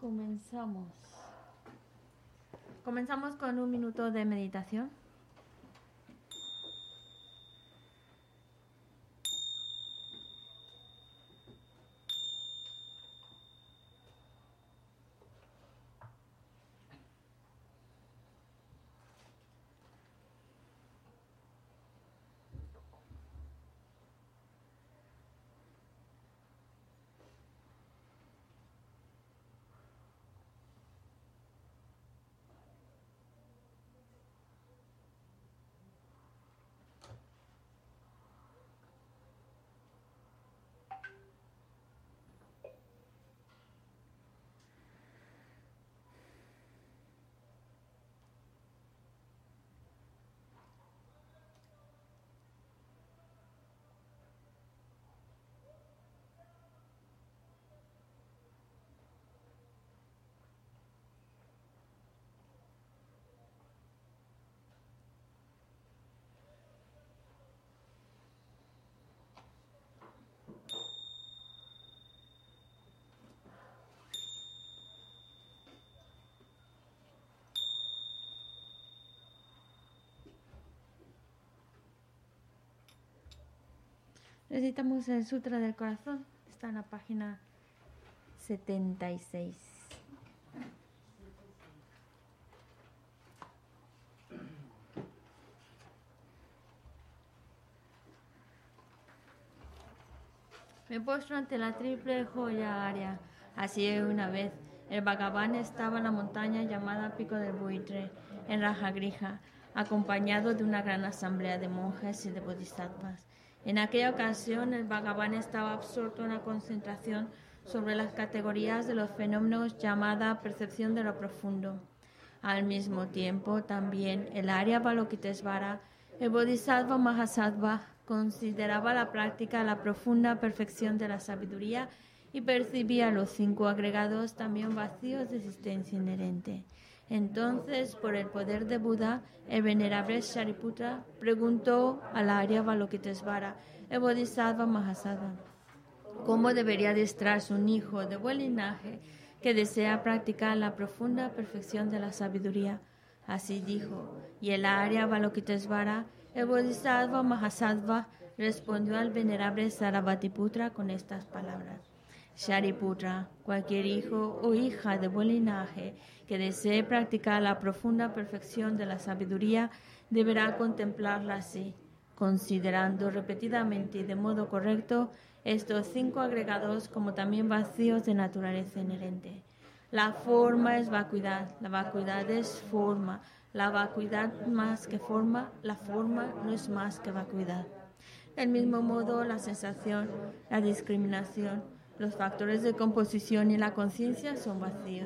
Comenzamos. Comenzamos con un minuto de meditación. Recitamos el Sutra del Corazón. Está en la página 76. Me postro ante la triple joya área. Así una vez, el Bhagavan estaba en la montaña llamada Pico del Buitre, en Rajagrija, acompañado de una gran asamblea de monjes y de bodhisattvas. En aquella ocasión, el Bhagavan estaba absorto en la concentración sobre las categorías de los fenómenos llamada percepción de lo profundo. Al mismo tiempo, también el Arya Avalokitesvara, el Bodhisattva Mahasattva, consideraba la práctica la profunda perfección de la sabiduría y percibía los 5 agregados también vacíos de existencia inherente. Entonces, por el poder de Buda, el venerable Shariputra preguntó al Arya Avalokitesvara, el Bodhisattva Mahasattva, ¿cómo debería adiestrarse un hijo de buen linaje que desea practicar la profunda perfección de la sabiduría? Así dijo, y el Arya Avalokitesvara, el Bodhisattva Mahasattva, respondió al venerable Sarabhatiputra con estas palabras. Shariputra, cualquier hijo o hija de buen linaje que desee practicar la profunda perfección de la sabiduría deberá contemplarla así, considerando repetidamente y de modo correcto estos 5 agregados como también vacíos de naturaleza inherente. La forma es vacuidad, la vacuidad es forma, la vacuidad más que forma, la forma no es más que vacuidad. Del mismo modo, la sensación, la discriminación, los factores de composición y la conciencia son vacíos.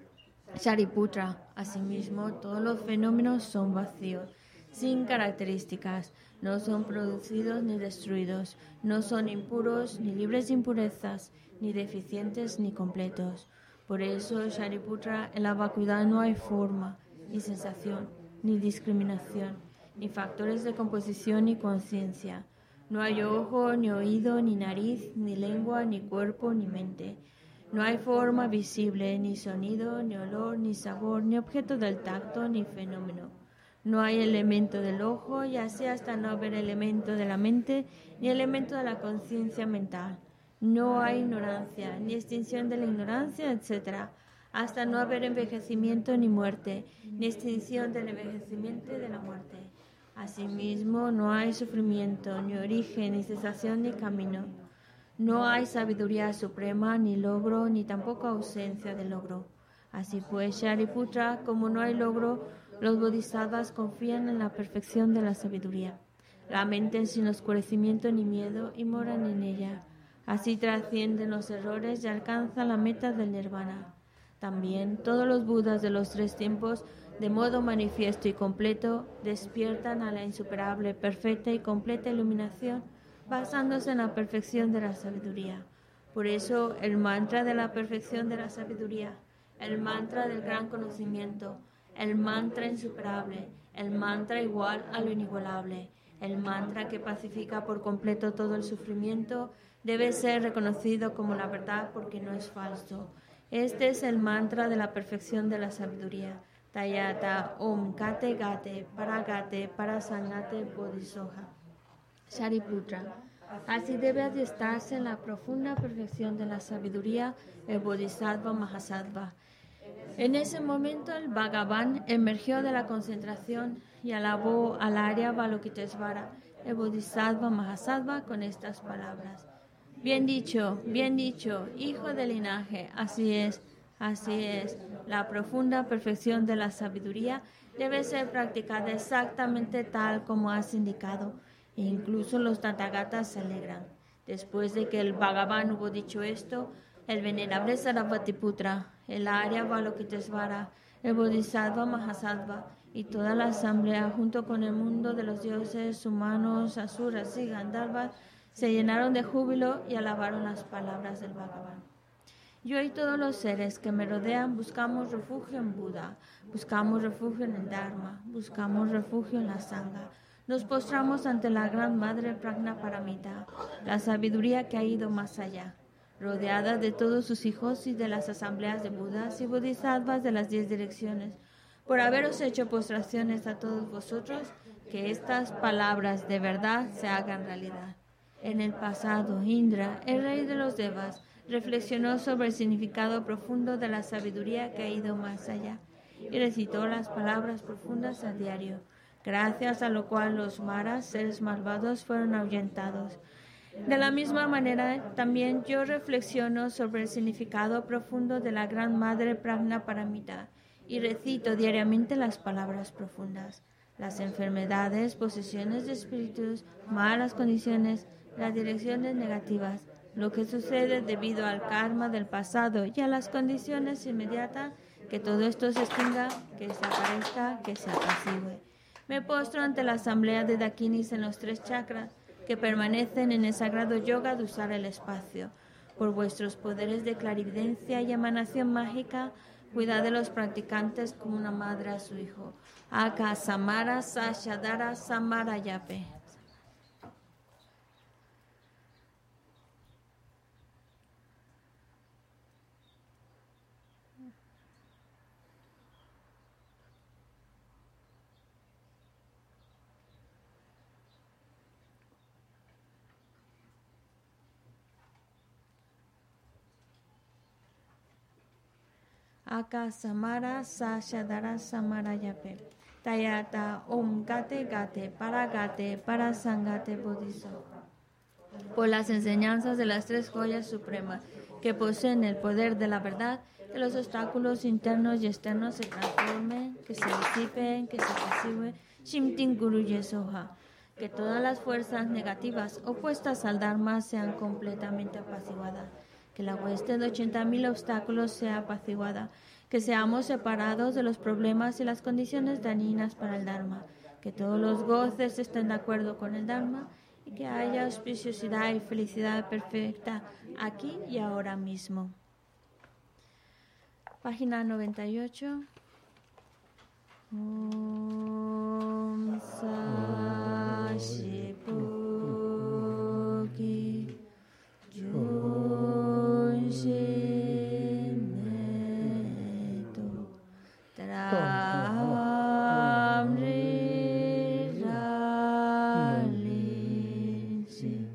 Shariputra, asimismo, todos los fenómenos son vacíos, sin características, no son producidos ni destruidos, no son impuros ni libres de impurezas, ni deficientes ni completos. Por eso, Shariputra, en la vacuidad no hay forma, ni sensación, ni discriminación, ni factores de composición ni conciencia. No hay ojo, ni oído, ni nariz, ni lengua, ni cuerpo, ni mente. No hay forma visible, ni sonido, ni olor, ni sabor, ni objeto del tacto, ni fenómeno. No hay elemento del ojo, y así hasta no haber elemento de la mente, ni elemento de la conciencia mental. No hay ignorancia, ni extinción de la ignorancia, etc., hasta no haber envejecimiento ni muerte, ni extinción del envejecimiento y de la muerte. Asimismo, no hay sufrimiento, ni origen, ni cesación, ni camino. No hay sabiduría suprema, ni logro, ni tampoco ausencia de logro. Así pues, Shariputra, como no hay logro, los bodhisattvas confían en la perfección de la sabiduría. La mente sin oscurecimiento ni miedo y moran en ella. Así trascienden los errores y alcanzan la meta del nirvana. También todos los budas de los 3 tiempos, de modo manifiesto y completo, despiertan a la insuperable, perfecta y completa iluminación, basándose en la perfección de la sabiduría. Por eso, el mantra de la perfección de la sabiduría, el mantra del gran conocimiento, el mantra insuperable, el mantra igual a lo inigualable, el mantra que pacifica por completo todo el sufrimiento, debe ser reconocido como la verdad porque no es falso. Este es el mantra de la perfección de la sabiduría. Tayata Om Gate Gate Paragate Parasangate Bodhisoha. Shariputra. Así debe adiestrarse en la profunda perfección de la sabiduría el Bodhisattva Mahasattva. En ese momento el Bhagavan emergió de la concentración y alabó al Arya Avalokitesvara, el Bodhisattva Mahasattva, con estas palabras. Bien dicho, hijo del linaje, así es. La profunda perfección de la sabiduría debe ser practicada exactamente tal como has indicado, e incluso los Tathagatas se alegran. Después de que el Bhagavan hubo dicho esto, el venerable Sarasvatiputra, el Arya Avalokitesvara, el Bodhisattva Mahasattva y toda la asamblea, junto con el mundo de los dioses, humanos, asuras y gandharvas, se llenaron de júbilo y alabaron las palabras del Bhagavan. Yo y todos los seres que me rodean buscamos refugio en Buda, buscamos refugio en el Dharma, buscamos refugio en la Sangha. Nos postramos ante la Gran Madre Prajnaparamita, la sabiduría que ha ido más allá, rodeada de todos sus hijos y de las asambleas de Budas y Bodhisattvas de las 10 direcciones. Por haberos hecho postraciones a todos vosotros, que estas palabras de verdad se hagan realidad. En el pasado, Indra, el rey de los Devas, reflexionó sobre el significado profundo de la sabiduría que ha ido más allá y recitó las palabras profundas a diario, gracias a lo cual los maras, seres malvados, fueron ahuyentados. De la misma manera, también yo reflexiono sobre el significado profundo de la Gran Madre Prajnaparamita y recito diariamente las palabras profundas. Las enfermedades, posesiones de espíritus, malas condiciones, las direcciones negativas, lo que sucede debido al karma del pasado y a las condiciones inmediatas, que todo esto se extinga, que desaparezca, que se apacigüe. Me postro ante la asamblea de Dakinis en los 3 chakras, que permanecen en el sagrado yoga de usar el espacio. Por vuestros poderes de clarividencia y emanación mágica, cuidad de los practicantes como una madre a su hijo. Aka Samara Sashadara Samara Yape. Aka Samara Sashadara Samara Yape. Tayata Om Gate Gate Paragate Parasangate Bodhiso. Por las enseñanzas de las 3 joyas supremas que poseen el poder de la verdad, que los obstáculos internos y externos se transformen, que se disipen, que se apacigüen, Shimtin Guru Yesoha. Que todas las fuerzas negativas opuestas al Dharma sean completamente apaciguadas. Que la hueste de 80.000 obstáculos sea apaciguada, que seamos separados de los problemas y las condiciones dañinas para el Dharma, que todos los goces estén de acuerdo con el Dharma y que haya auspiciosidad y felicidad perfecta aquí y ahora mismo. Página 98. Om Sashipuki Junshinetu Tramri Ralishi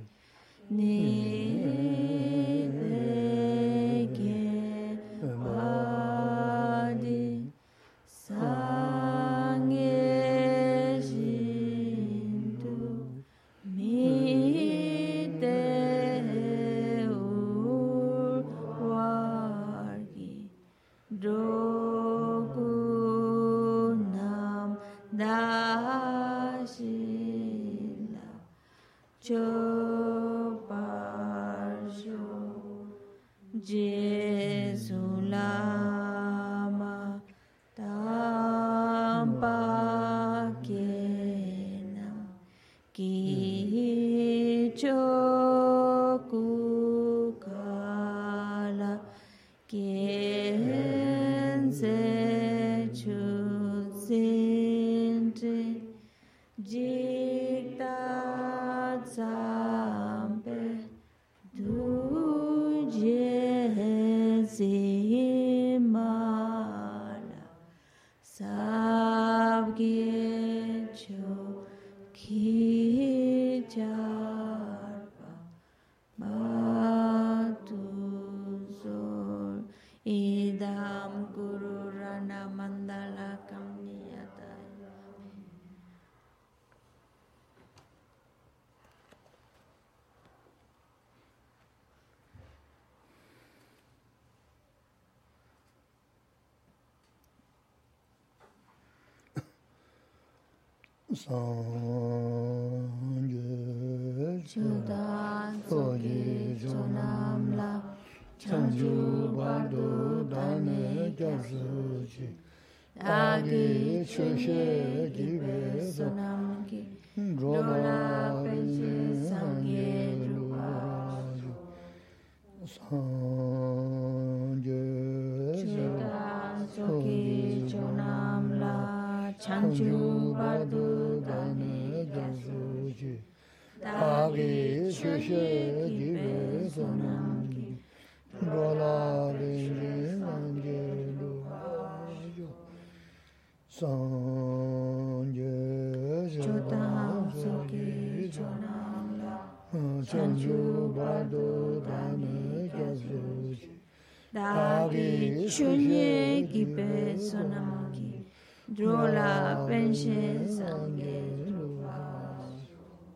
Nideke Vadi Sangye Shintu Mite Urvargi Drogunam Dashila Choparsho Jesulama Tampakenam Kichokukala Kense Chutsinti Jiktat Sampe Dujezi mala sabgyecho kijarpa matuzor idam gururana mandala kamniyata. Sangye Chudan sogi chonamla chanju bardo dane gyasuchi agi chushe gibe sonamki dola penche sangye luarayu. Sangye Chudan sogi chonamla chanju bardo dane gyasuchi agi chushe gibe sonamki Rola Benji Sangye Luarayu. Sangye Chudan sogi chonamla Chanju Bardo Dane Gyasuchi Dagi chunye gibe sonamki drola penche sangye luarayu.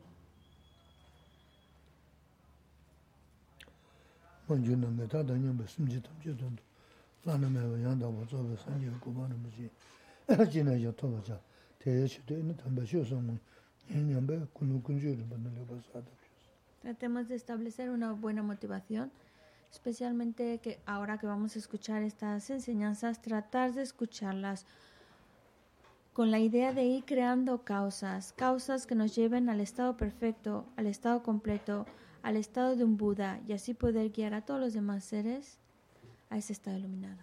Manjuna Meta Danyamba Simji Tamche Tundu Lana Meva Yanda Wazobe Sangye Kumana Muji Jina Yatovaja Teye Chute Ina Tamba Shosamu Yanyamba Kunu Kunjuri Banaleba Sada. Tratemos de establecer una buena motivación, especialmente que ahora que vamos a escuchar estas enseñanzas, tratar de escucharlas con la idea de ir creando causas que nos lleven al estado perfecto, al estado completo, al estado de un Buda, y así poder guiar a todos los demás seres a ese estado iluminado.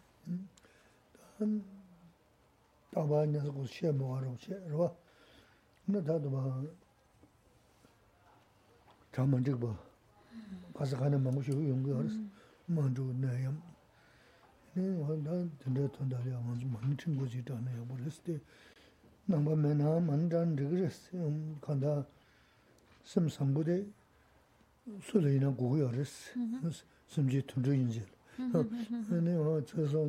Sulina Guyaris, Simji Tundrinjil. Anyway,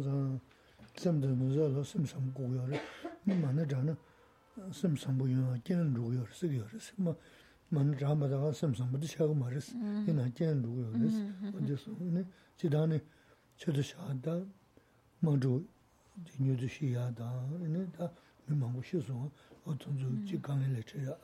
Samdana, Simsam Guyar, Manajana, Simsam Buya, Jan Ruyer, Sigars, Manjamada, Simsam, but the Shagmaris, in a Jan Ruyeris, just Chidani, Chedashada, Maju, Dinu Shiada, in it, Mimangushizon, or Tunzu Chikan Electria.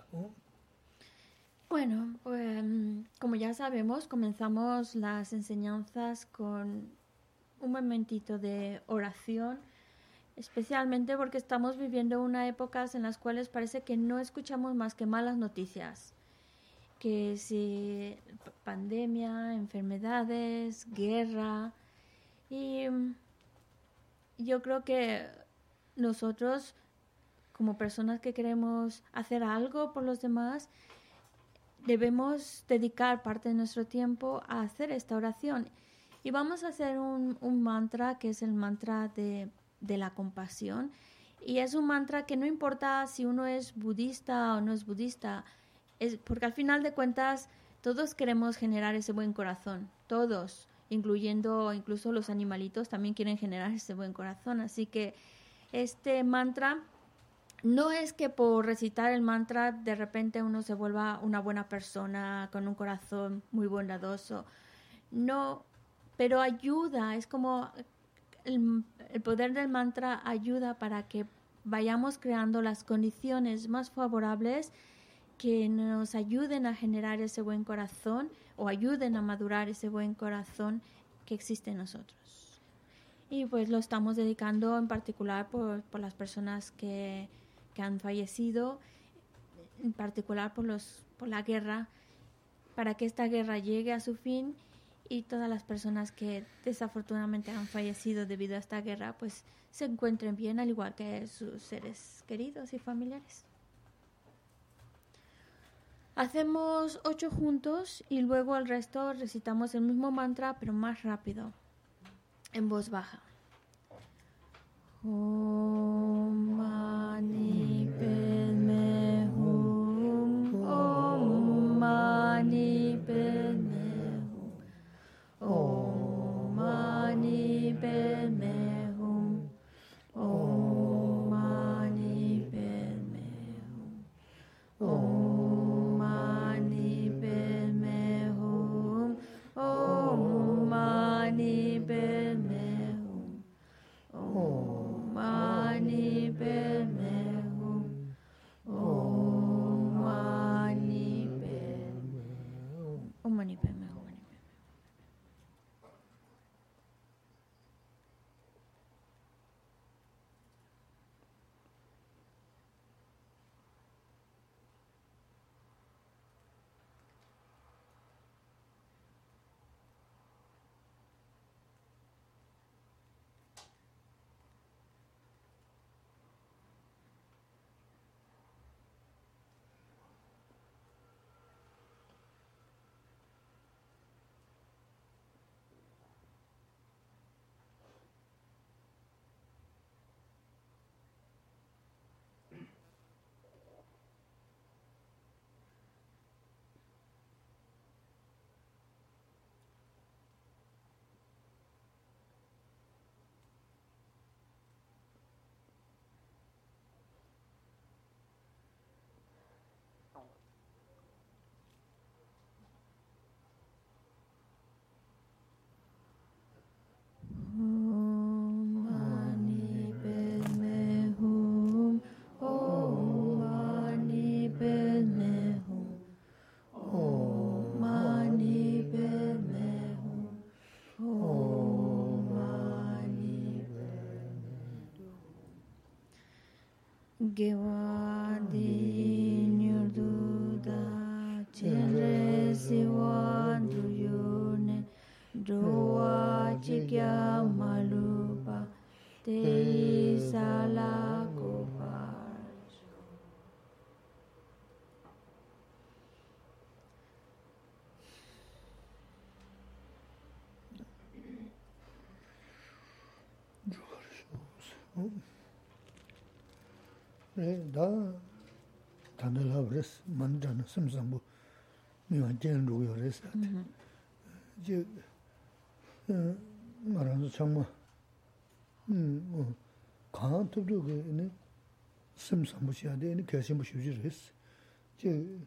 Bueno, como ya sabemos, comenzamos las enseñanzas con un momentito de oración, especialmente porque estamos viviendo unas épocas en las cuales parece que no escuchamos más que malas noticias, que si pandemia, enfermedades, guerra, y yo creo que nosotros, como personas que queremos hacer algo por los demás, debemos dedicar parte de nuestro tiempo a hacer esta oración. Y vamos a hacer un mantra que es el mantra de la compasión. Y es un mantra que no importa si uno es budista o no es budista, porque al final de cuentas todos queremos generar ese buen corazón. Todos, incluyendo incluso los animalitos, también quieren generar ese buen corazón. Así que este mantra no es que por recitar el mantra de repente uno se vuelva una buena persona con un corazón muy bondadoso. No, pero ayuda, es como el poder del mantra ayuda para que vayamos creando las condiciones más favorables que nos ayuden a generar ese buen corazón o ayuden a madurar ese buen corazón que existe en nosotros. Y pues lo estamos dedicando en particular por las personas que han fallecido, en particular por la guerra, para que esta guerra llegue a su fin y todas las personas que desafortunadamente han fallecido debido a esta guerra pues se encuentren bien, al igual que sus seres queridos y familiares. Hacemos 8 juntos y luego el resto recitamos el mismo mantra pero más rápido, en voz baja. Om Mani Padme Hum. Om Mani Padme Hum. Om Mani Padme Hum. Om Mani Padme Hum. Om Mani Padme Hum. Om Mani Padme Hum. Om Mani Padme Hum. Om Mani Padme Hum. Om Mani Padme Hum. Om Mani Padme Hum. Om Mani Padme Hum. Om Mani Padme Hum. Om Mani Padme Hum. Gewadi Nyurduda Chenre Siwandu Yune Doa Chikya Malupa Te Sala Gopal. 다 단들하버스 만잖아 심상부 미완 젠루요 레스 이제 말하는 정말 강한테도 그네 심상부시야 되는 개심부 쉬지를 했어 제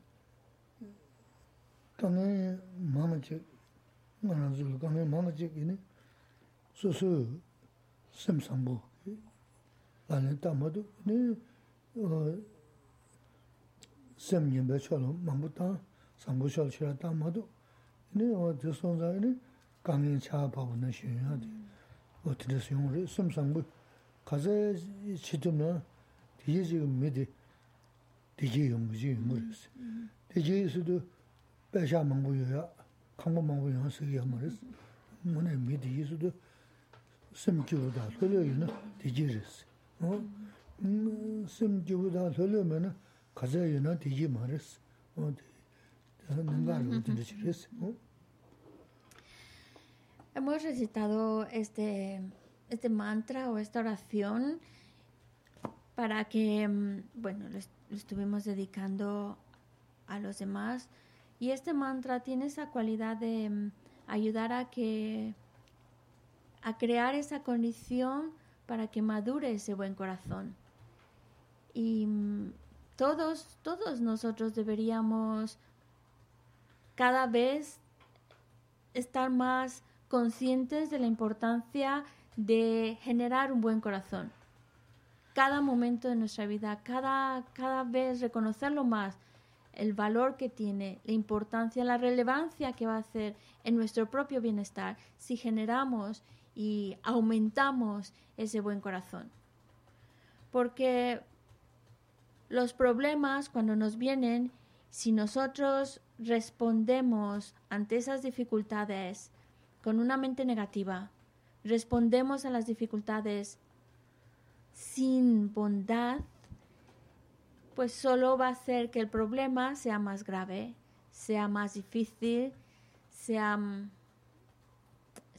강에 마마지 말하는 강에 마마지기네 소소 심상부 안에 담아도 네 semnyembechono mambuta sambushol chira tamado ne o de sonza ne 강인 차바고는 신야데 어떻게 생각을 섬상부 가서 지도면 뒤에 지금 미디 뒤에 용무지 모르겠어 뒤에서도 배샤 망부야 강고 망부야 쓰기 말했어 뭐네 미디에서도 섬기보다 설려이나 뒤지랬어 섬기보다 설려면은 가자이나 뒤지 말했어 뭔가를 뒤지랬어 Hemos recitado este mantra o esta oración para que, bueno, lo estuvimos dedicando a los demás. Y este mantra tiene esa cualidad de ayudar a crear esa condición para que madure ese buen corazón. Y todos nosotros deberíamos cada vez estar más conscientes de la importancia de generar un buen corazón. Cada momento de nuestra vida, cada vez reconocerlo más, el valor que tiene, la importancia, la relevancia que va a hacer en nuestro propio bienestar si generamos y aumentamos ese buen corazón. Porque los problemas, cuando nos vienen, si nosotros respondemos ante esas dificultades con una mente negativa, respondemos a las dificultades sin bondad, pues solo va a hacer que el problema sea más grave, sea más difícil, sea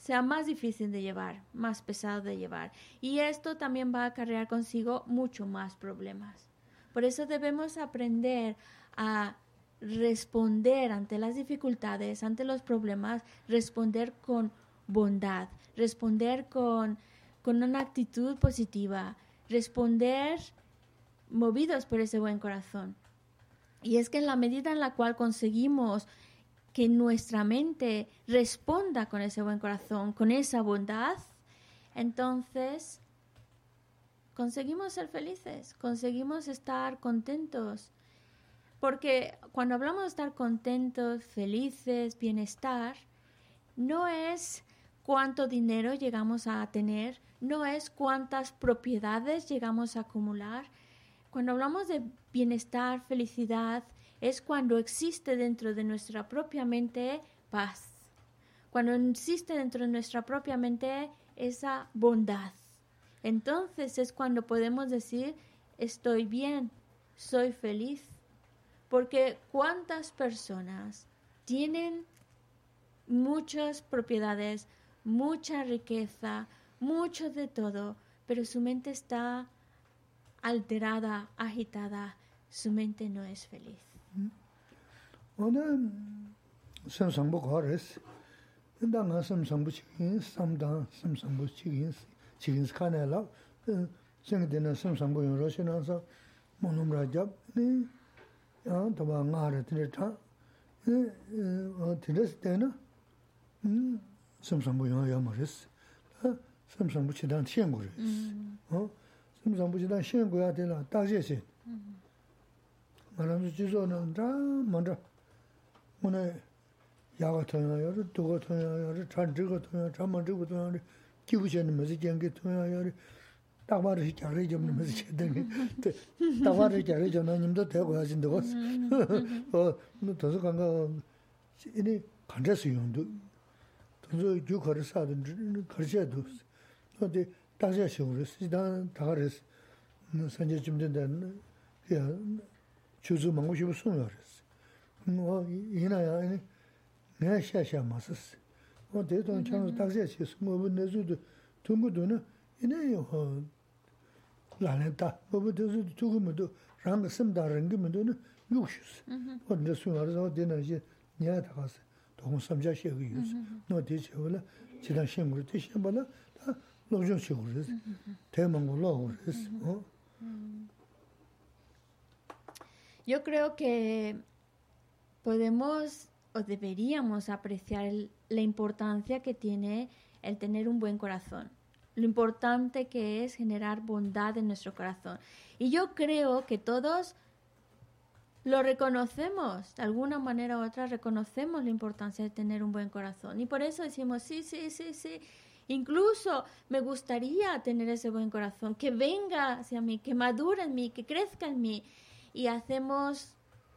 sea más difícil de llevar, más pesado de llevar. Y esto también va a acarrear consigo mucho más problemas. Por eso debemos aprender a responder ante las dificultades, ante los problemas, responder con bondad, responder con una actitud positiva, responder movidos por ese buen corazón. Y es que en la medida en la cual conseguimos que nuestra mente responda con ese buen corazón, con esa bondad, entonces conseguimos ser felices, conseguimos estar contentos. Porque cuando hablamos de estar contentos, felices, bienestar, no es cuánto dinero llegamos a tener, no es cuántas propiedades llegamos a acumular. Cuando hablamos de bienestar, felicidad, es cuando existe dentro de nuestra propia mente paz. Cuando existe dentro de nuestra propia mente esa bondad. Entonces es cuando podemos decir, estoy bien, soy feliz. Porque cuántas personas tienen muchas propiedades, mucha riqueza, mucho de todo, pero su mente está alterada, agitada, su mente no es feliz. 오늘 삼삼부 거래스 인당아 삼삼부 치긴 삼당 삼삼부 치긴 치긴 스카네라 생되는 삼삼부 요러시나서 모놈라잡 야 도바 나르 드르타 드르스 때나 삼삼부 요야 말스 삼삼부 치단 시행고레스 삼삼부 치단 시행고야 되나 다제시 말하면서 지소는 다 먼저 오늘 야가 통야요, 도가 통야요, 잔지가 통야, 잠만지가 통야, 기부시는 뭐지 경계 통야요. 딱바르 자리 좀 뭐지 되는. 딱바르 자리 좀 님도 되고 하신다고. 뭐 더서 간가 이니 간자수 용도. 더서 주거를 사든 거셔도. 근데 다시 식으로 시단 다가르스. 선제 좀 된다는 야 주주 먹고 싶어 숨어요. 뭐 이나야 내가 샤샤 마스스 뭐 대동 창을 딱지에서 뭐 내주도 동부도는 이내요 라렌다 뭐부터도 두고면도 랑 심다른 게면도 육슈스 근데 수화서 되는지 내가 다가서 동삼자시에 유스 너 대체월에 지난 신고를 대신발라 다 노정 식으로 대망으로 그랬어 Yo creo que podemos o deberíamos apreciar la importancia que tiene el tener un buen corazón, lo importante que es generar bondad en nuestro corazón. Y yo creo que todos lo reconocemos, de alguna manera u otra reconocemos la importancia de tener un buen corazón. Y por eso decimos, sí. Incluso me gustaría tener ese buen corazón, que venga hacia mí, que madure en mí, que crezca en mí. Y hacemos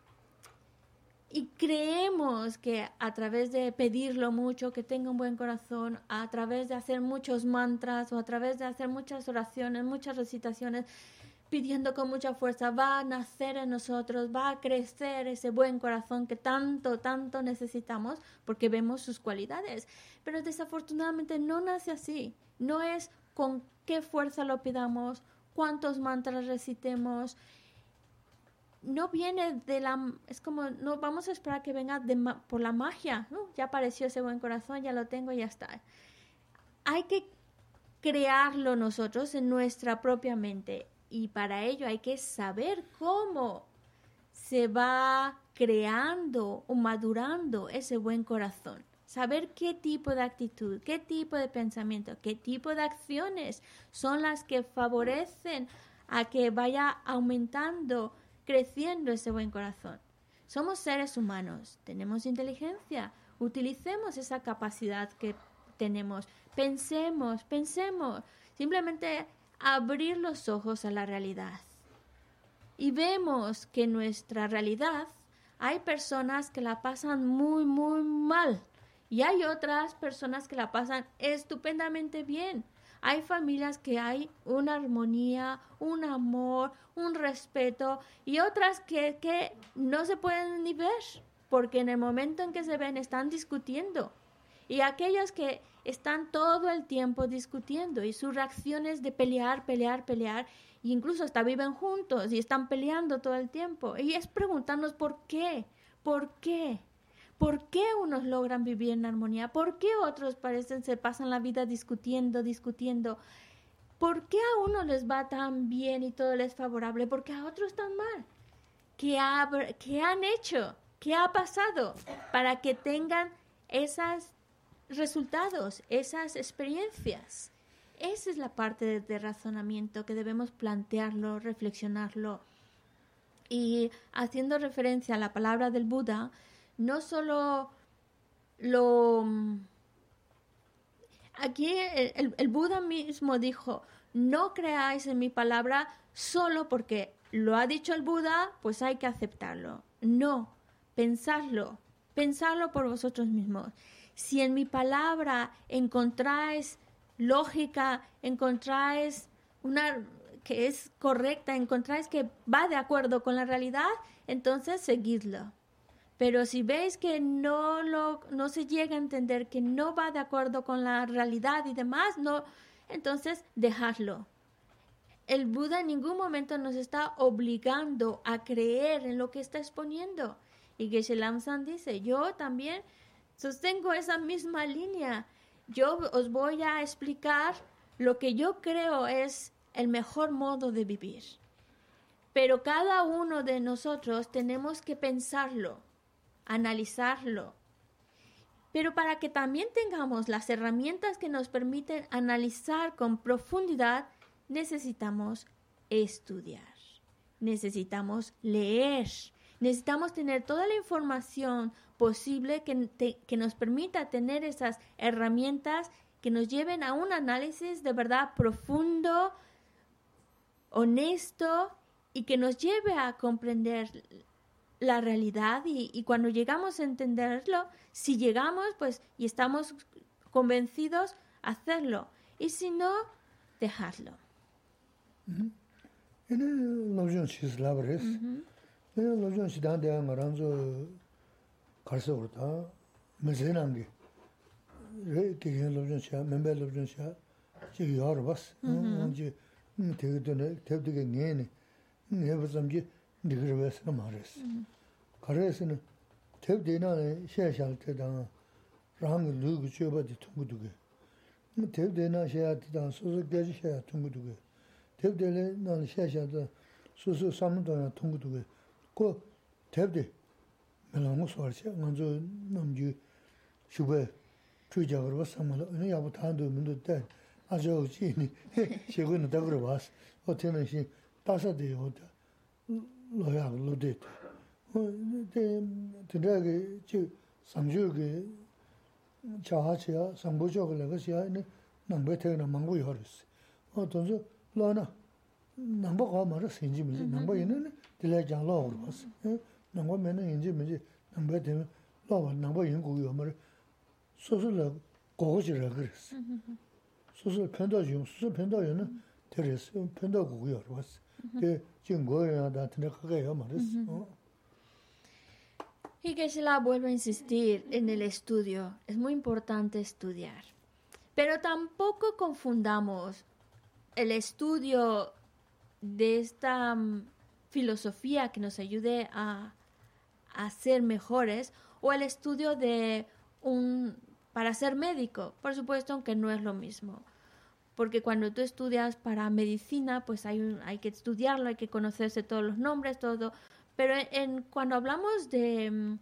y creemos que a través de pedirlo mucho, que tenga un buen corazón, a través de hacer muchos mantras o a través de hacer muchas oraciones, muchas recitaciones, pidiendo con mucha fuerza, va a nacer en nosotros, va a crecer ese buen corazón que tanto necesitamos porque vemos sus cualidades. Pero desafortunadamente no nace así. No es con qué fuerza lo pidamos, cuántos mantras recitemos. No viene de la... Es como, no vamos a esperar que venga por la magia, ¿no? Ya apareció ese buen corazón, ya lo tengo, ya está. Hay que crearlo nosotros en nuestra propia mente. Y para ello hay que saber cómo se va creando o madurando ese buen corazón. Saber qué tipo de actitud, qué tipo de pensamiento, qué tipo de acciones son las que favorecen a que vaya aumentando, creciendo ese buen corazón. Somos seres humanos, tenemos inteligencia, utilicemos esa capacidad que tenemos, pensemos, simplemente abrir los ojos a la realidad. Y vemos que en nuestra realidad hay personas que la pasan muy mal y hay otras personas que la pasan estupendamente bien. Hay familias que hay una armonía, un amor, un respeto y otras que no se pueden ni ver porque en el momento en que se ven están discutiendo. Y aquellos que están todo el tiempo discutiendo y su reacción es de pelear, e incluso hasta viven juntos y están peleando todo el tiempo. Y es preguntarnos por qué. ¿Por qué unos logran vivir en armonía? ¿Por qué otros se pasan la vida discutiendo? ¿Por qué a unos les va tan bien y todo les es favorable? ¿Por qué a otros tan mal? ¿Qué han hecho? ¿Qué ha pasado para que tengan esos resultados, esas experiencias? Esa es la parte de razonamiento que debemos plantearlo, reflexionarlo. Y haciendo referencia a la palabra del Buda, no solo aquí el Buda mismo dijo, no creáis en mi palabra solo porque lo ha dicho el Buda, pues hay que aceptarlo. No, pensadlo por vosotros mismos. Si en mi palabra encontráis lógica, encontráis una que es correcta, encontráis que va de acuerdo con la realidad, entonces seguidlo. Pero si veis que no se llega a entender, que no va de acuerdo con la realidad y demás, entonces dejadlo. El Buda en ningún momento nos está obligando a creer en lo que está exponiendo. Y Geshe Lamsan dice, yo también sostengo esa misma línea. Yo os voy a explicar lo que yo creo es el mejor modo de vivir. Pero cada uno de nosotros tenemos que pensarlo, analizarlo. Pero para que también tengamos las herramientas que nos permiten analizar con profundidad, necesitamos estudiar, necesitamos leer, necesitamos tener toda la información posible que nos permita tener esas herramientas que nos lleven a un análisis de verdad profundo, honesto y que nos lleve a comprender la realidad y cuando llegamos a entenderlo, si llegamos pues y estamos convencidos, hacerlo y si no, dejarlo. 가르에서는 대대나에 셰샬 때다 랑 누구 줘봐도 통구두게 대대나 셰야 때다 소소까지 셰야 통구두게 대대래 난 셰샤도 소소 삼도나 통구두게 그 대대 melamo soarse manzo namju shube 추적으로 왔으면 어느 야부 단도 문도 때 아주 지니 최근에 다 그러 왔어 어때는 시 따사돼요 로야 로데 근데 저 상주게 자하치야 상보적을 것이야 남배태나 망고 요르스 어떤서 로나 남보가 말을 생지면 남보에는 들려장로 왔어 남보면은 인지 뭐지 남배태는 로와 남보 연구요 말 소소를 고고지라 그랬어 소소 편도중 소소 편도에는 들었어 편도고요 왔어 그 지금 거야 나한테 그거요 말했어 Y Geshe-la vuelve a insistir en el estudio. Es muy importante estudiar. Pero tampoco confundamos el estudio de esta filosofía que nos ayude a ser mejores o el estudio para ser médico. Por supuesto, aunque no es lo mismo. Porque cuando tú estudias para medicina, pues hay que estudiarlo, hay que conocerse todos los nombres, todo. Pero cuando hablamos de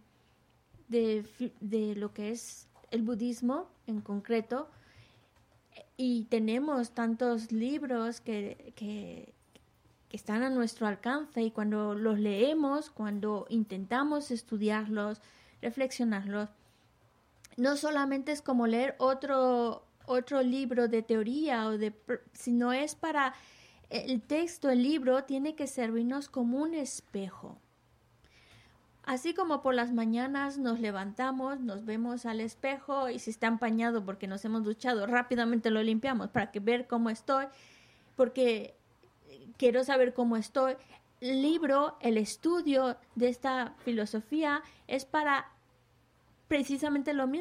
lo que es el budismo en concreto, y tenemos tantos libros que están a nuestro alcance, y cuando los leemos, cuando intentamos estudiarlos, reflexionarlos, no solamente es como leer otro libro de teoría, sino es para el texto, el libro, tiene que servirnos como un espejo. Así como por las mañanas nos levantamos, nos vemos al espejo y si está empañado porque nos hemos duchado, rápidamente lo limpiamos para ver cómo estoy, porque quiero saber cómo estoy. El libro, el estudio de esta filosofía es para precisamente lo mismo,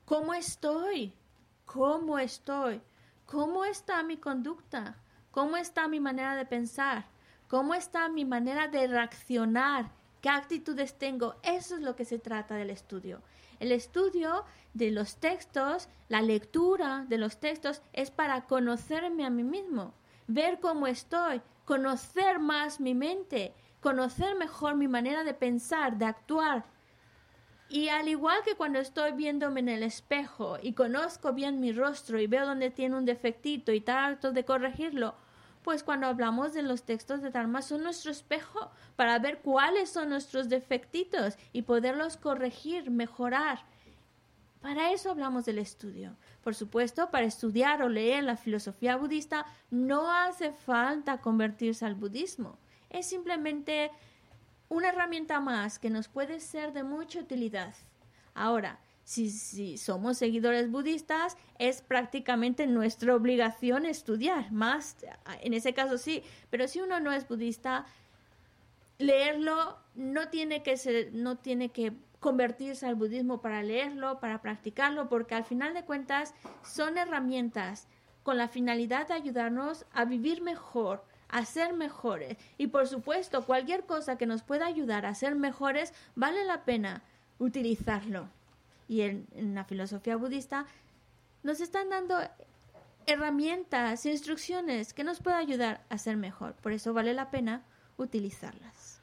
¿Cómo estoy? ¿Cómo estoy? ¿Cómo está mi conducta? ¿Cómo está mi manera de pensar? ¿Cómo está mi manera de reaccionar? ¿Qué actitudes tengo? Eso es lo que se trata del estudio. El estudio de los textos, la lectura de los textos es para conocerme a mí mismo, ver cómo estoy, conocer más mi mente, conocer mejor mi manera de pensar, de actuar. Y al igual que cuando estoy viéndome en el espejo y conozco bien mi rostro y veo donde tiene un defectito y trato de corregirlo, pues cuando hablamos de los textos de Dharma son nuestro espejo para ver cuáles son nuestros defectitos y poderlos corregir, mejorar. Para eso hablamos del estudio. Por supuesto, para estudiar o leer la filosofía budista no hace falta convertirse al budismo. Es simplemente una herramienta más que nos puede ser de mucha utilidad. Ahora, si somos seguidores budistas, es prácticamente nuestra obligación estudiar más, en ese caso sí, pero si uno no es budista, leerlo no tiene que convertirse al budismo para leerlo, para practicarlo, porque al final de cuentas son herramientas con la finalidad de ayudarnos a vivir mejor, a ser mejores. Y por supuesto, cualquier cosa que nos pueda ayudar a ser mejores, vale la pena utilizarlo. Y en la filosofía budista nos están dando herramientas, instrucciones que nos pueden ayudar a ser mejor. Por eso vale la pena utilizarlas.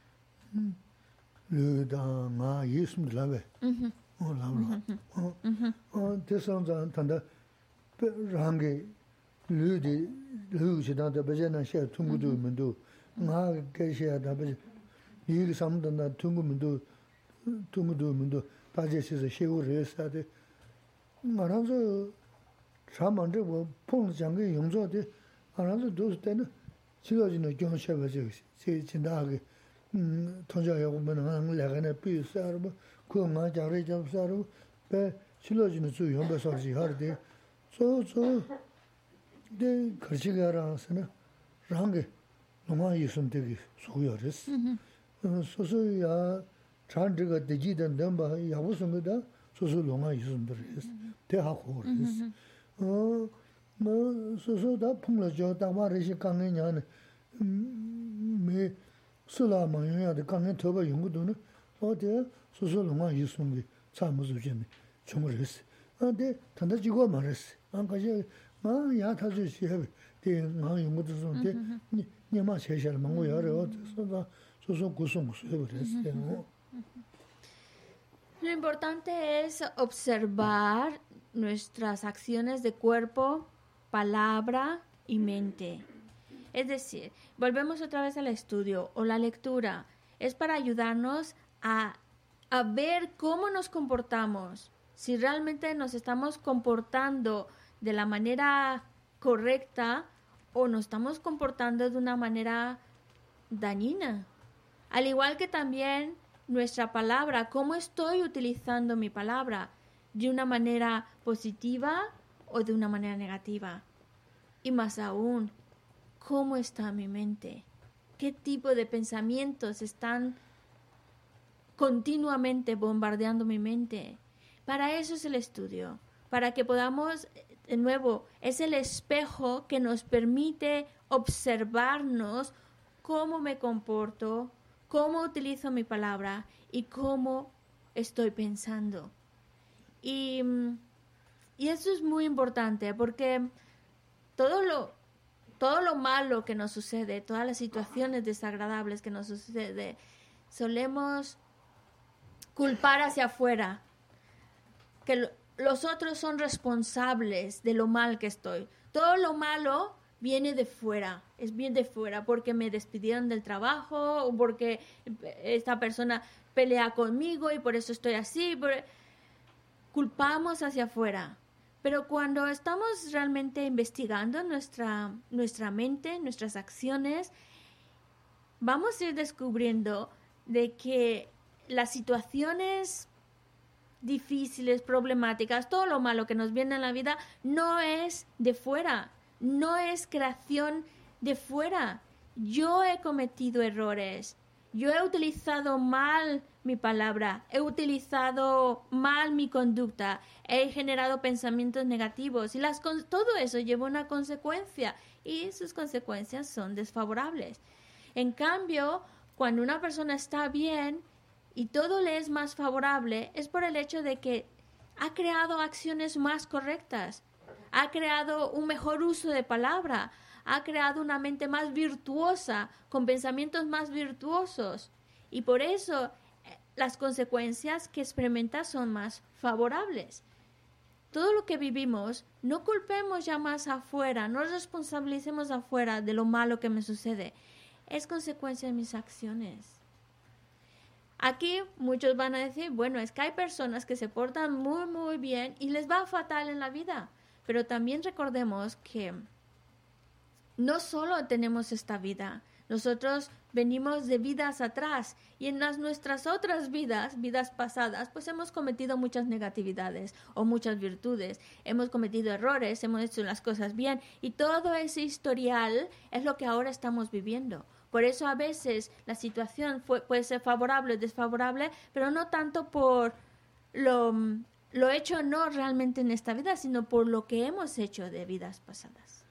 다제시서 시우를 했다데 말아서 참만데 뭐 폰장게 용조데 알아서 도스 때는 지어지는 경험셔가지고 제 진다하게 통장하고 뭐는 내가네 비싸로 그만 자리 잡사로 배 실어지는 주 용배서지 하르데 네 거시가라서는 랑게 너무 있으면 되게 소요했어 소소야 찬드가 되지던 넘바 야부선거다 소소롱아 있음들이스 대하고르스 뭐 소소다 풍러져 다마르시 강내냐는 매 술라마야의 강내 더바 연구도는 어디 소소롱아 있음이 참무주진 총을했어 근데 단다지고 말했어 안 가지 마 야타주시 해 대마 연구도 좀데 니마 제시할 망고 여러 소소 소소 구성구수 해버렸어 Lo importante es observar nuestras acciones de cuerpo, palabra y mente. Es decir, volvemos otra vez al estudio o la lectura. Es para ayudarnos a ver cómo nos comportamos. Si realmente nos estamos comportando de la manera correcta o nos estamos comportando de una manera dañina. Al igual que también nuestra palabra, cómo estoy utilizando mi palabra, de una manera positiva o de una manera negativa. Y más aún, cómo está mi mente, qué tipo de pensamientos están continuamente bombardeando mi mente. Para eso es el estudio, para que podamos, de nuevo, es el espejo que nos permite observarnos cómo me comporto, cómo utilizo mi palabra y cómo estoy pensando. Y eso es muy importante porque todo lo malo que nos sucede, todas las situaciones desagradables que nos sucede, solemos culpar hacia afuera, que los otros son responsables de lo mal que estoy. Todo lo malo viene de fuera, es bien de fuera, porque me despidieron del trabajo o porque esta persona pelea conmigo y por eso estoy así. Culpamos hacia afuera. Pero cuando estamos realmente investigando nuestra mente, nuestras acciones, vamos a ir descubriendo de que las situaciones difíciles, problemáticas, todo lo malo que nos viene en la vida no es de fuera. No es creación de fuera. Yo he cometido errores. Yo he utilizado mal mi palabra, he utilizado mal mi conducta, he generado pensamientos negativos y todo eso lleva una consecuencia y sus consecuencias son desfavorables. En cambio, cuando una persona está bien y todo le es más favorable, es por el hecho de que ha creado acciones más correctas, ha creado un mejor uso de palabra, ha creado una mente más virtuosa, con pensamientos más virtuosos. Y por eso las consecuencias que experimenta son más favorables. Todo lo que vivimos, no culpemos ya más afuera, no responsabilicemos afuera de lo malo que me sucede. Es consecuencia de mis acciones. Aquí muchos van a decir, bueno, es que hay personas que se portan muy, muy bien y les va fatal en la vida. Pero también recordemos que no solo tenemos esta vida, nosotros venimos de vidas atrás y en nuestras otras vidas pasadas, pues hemos cometido muchas negatividades o muchas virtudes, hemos cometido errores, hemos hecho las cosas bien y todo ese historial es lo que ahora estamos viviendo. Por eso a veces la situación puede ser favorable o desfavorable, pero no tanto por lo hecho no realmente en esta vida, sino por lo que hemos hecho de vidas pasadas.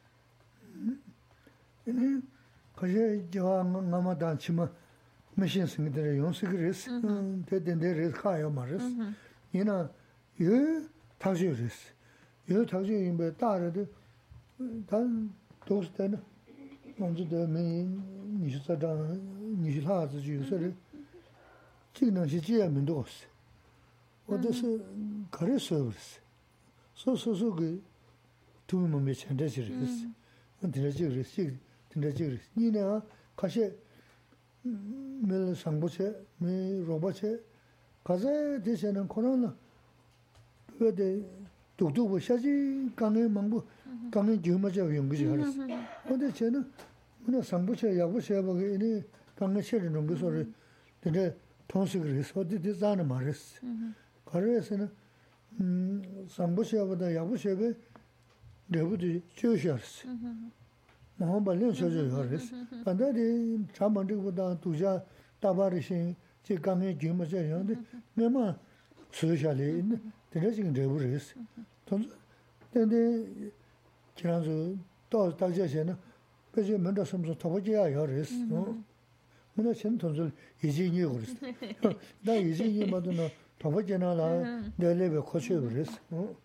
Kaje jawa ngama dan chima machine sing de yon sigres de res kaya mares ina yo tajo res yo tajo imbe da de dan dos de manzu de me ni sa da ni la zi ju se ji能是这样多是我这是可是说个都没钱的是问题是你呢？可是没上不去，没入不去，可是这些人可能呢，我得读不下去，刚才忙不，刚才就没这用不起来了。我的钱呢，我那上不去，下不去，我给你刚才写的那个说是，这个同事个说的咋那么是？可是是呢，上不去，我的下不去个，了不得就是是。我把两小时要的是，反正的长门这个当度假大把的心，这刚才就没这样的，我嘛吃下来，这个这个这不认识，同时，但是这样子到大家些呢，而且门到什么时候他不就要认识，我那前同事已经有了，那已经有么子呢？他不见那了，那边过去认识，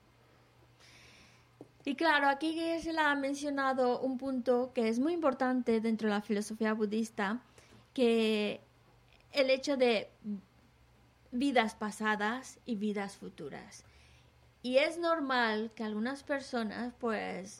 Y claro, aquí se ha mencionado un punto que es muy importante dentro de la filosofía budista, que el hecho de vidas pasadas y vidas futuras. Y es normal que algunas personas, pues,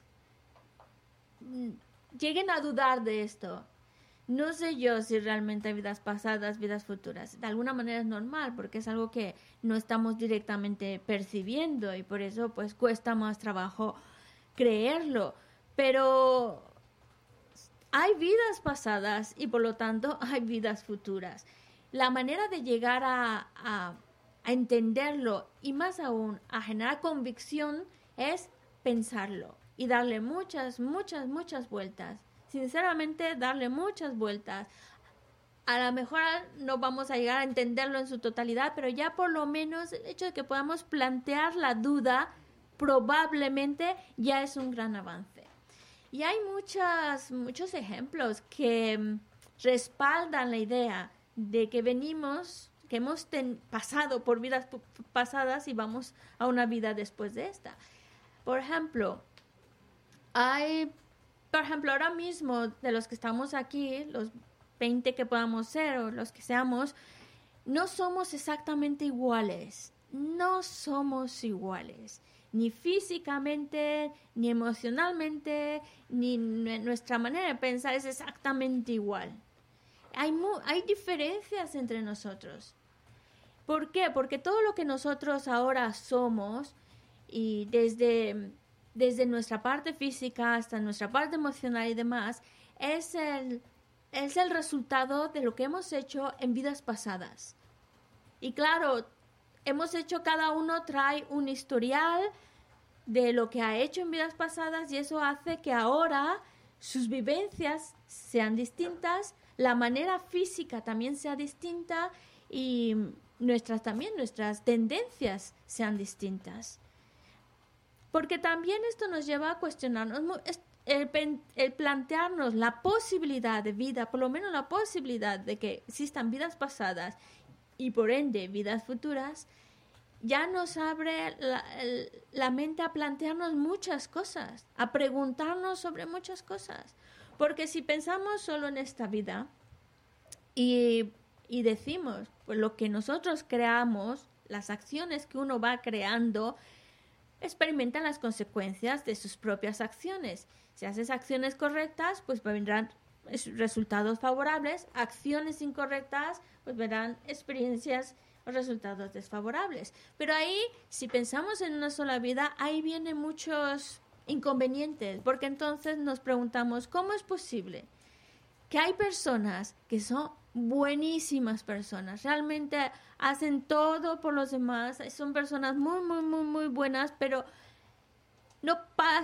lleguen a dudar de esto. No sé yo si realmente hay vidas pasadas, vidas futuras. De alguna manera es normal, porque es algo que no estamos directamente percibiendo y por eso, pues, cuesta más trabajo creerlo, pero hay vidas pasadas y por lo tanto hay vidas futuras. La manera de llegar a entenderlo y más aún a generar convicción es pensarlo y darle muchas vueltas. Sinceramente, darle muchas vueltas. A lo mejor no vamos a llegar a entenderlo en su totalidad, pero ya por lo menos el hecho de que podamos plantear la duda probablemente ya es un gran avance. Y hay muchos ejemplos que respaldan la idea de que que hemos pasado por vidas pasadas y vamos a una vida después de esta. Por ejemplo, ahora mismo de los que estamos aquí, los 20 que podamos ser o los que seamos, no somos exactamente iguales. No somos iguales. Ni físicamente, ni emocionalmente, ni nuestra manera de pensar es exactamente igual. Hay diferencias entre nosotros. ¿Por qué? Porque todo lo que nosotros ahora somos, y desde nuestra parte física hasta nuestra parte emocional y demás, es el resultado de lo que hemos hecho en vidas pasadas. Y claro, cada uno trae un historial de lo que ha hecho en vidas pasadas y eso hace que ahora sus vivencias sean distintas, la manera física también sea distinta y nuestras tendencias sean distintas. Porque también esto nos lleva a cuestionarnos el plantearnos la posibilidad de vida, por lo menos la posibilidad de que existan vidas pasadas y por ende vidas futuras, ya nos abre la mente a plantearnos muchas cosas, a preguntarnos sobre muchas cosas. Porque si pensamos solo en esta vida y decimos, pues lo que nosotros creamos, las acciones que uno va creando, experimentan las consecuencias de sus propias acciones. Si haces acciones correctas, pues vendrán resultados favorables. Acciones incorrectas, pues verán experiencias o resultados desfavorables. Pero ahí, si pensamos en una sola vida, ahí vienen muchos inconvenientes, porque entonces nos preguntamos, ¿cómo es posible que hay personas que son buenísimas personas, realmente hacen todo por los demás, son personas muy, muy, muy, muy buenas, pero no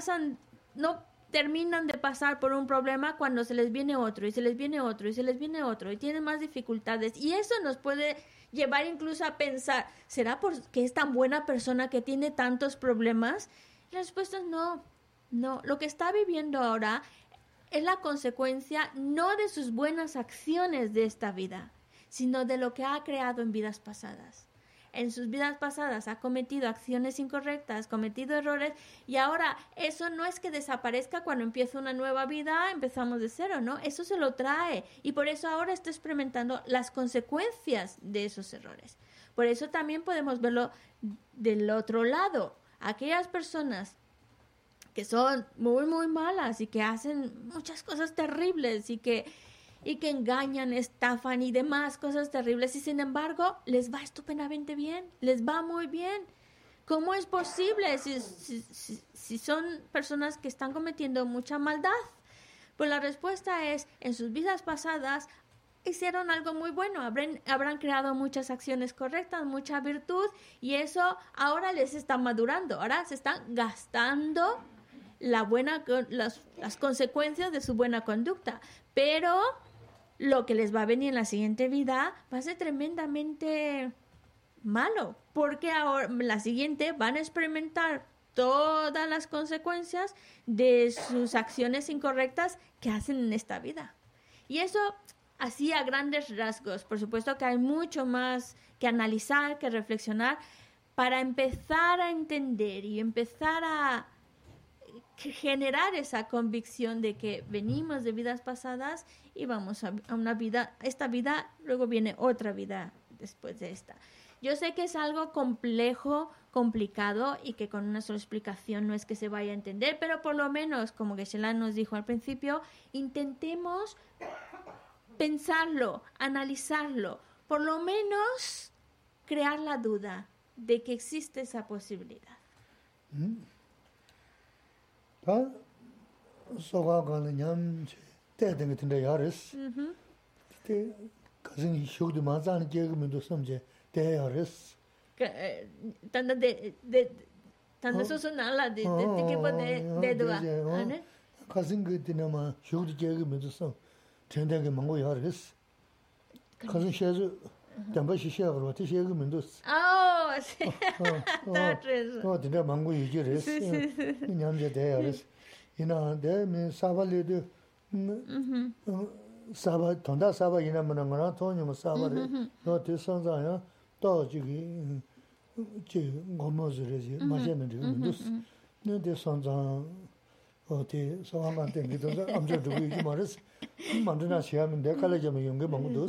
terminan de pasar por un problema cuando se les viene otro, y se les viene otro, y se les viene otro, y tienen más dificultades, y eso nos puede llevar incluso a pensar, ¿será porque es tan buena persona que tiene tantos problemas? La respuesta es no, lo que está viviendo ahora es la consecuencia no de sus buenas acciones de esta vida, sino de lo que ha creado en vidas pasadas. En sus vidas pasadas ha cometido acciones incorrectas, cometido errores, y ahora eso no es que desaparezca cuando empieza una nueva vida, empezamos de cero, ¿no? Eso se lo trae, y por eso ahora está experimentando las consecuencias de esos errores. Por eso también podemos verlo del otro lado. Aquellas personas que son muy, muy malas y que hacen muchas cosas terribles y que engañan, estafan y demás cosas terribles, y sin embargo les va estupendamente bien, les va muy bien. ¿Cómo es posible si son personas que están cometiendo mucha maldad? Pues la respuesta es, en sus vidas pasadas hicieron algo muy bueno, habrán creado muchas acciones correctas, mucha virtud, y eso ahora les está madurando, ahora se están gastando las consecuencias de su buena conducta, pero lo que les va a venir en la siguiente vida va a ser tremendamente malo, porque ahora en la siguiente van a experimentar todas las consecuencias de sus acciones incorrectas que hacen en esta vida. Y eso así a grandes rasgos. Por supuesto que hay mucho más que analizar, que reflexionar, para empezar a entender y empezar a generar esa convicción de que venimos de vidas pasadas y vamos a una vida, esta vida, luego viene otra vida después de esta. Yo sé que es algo complejo, complicado, y que con una sola explicación no es que se vaya a entender, pero por lo menos, como Geshe-la nos dijo al principio, intentemos pensarlo, analizarlo, por lo menos crear la duda de que existe esa posibilidad. 소가 가는 냠 때된 같은데 야르스 때 가진 쇼도 맞아는 계급면도 섬제 대야르스 tanto eso nada de tipo de duda, ¿no? 가진 그 때나마 쇼도 계급면도 섬 전대게 망고 야르스 가진 셔즈 담바시 셔로 때 계급면도 sí. 근데 망고 유지르스 냠제 대야르스 이나 내면 사발레도 사바 돈다 사바 이나면 거나 돈이 사바를 너 대선자야 또 저기 지 고모즈르지 맞는 데도 너 대선자 어디 소방관한테 믿어서 암저 두고 이지 말았어 만드나 시하면 내 칼레점에 연계 먹어도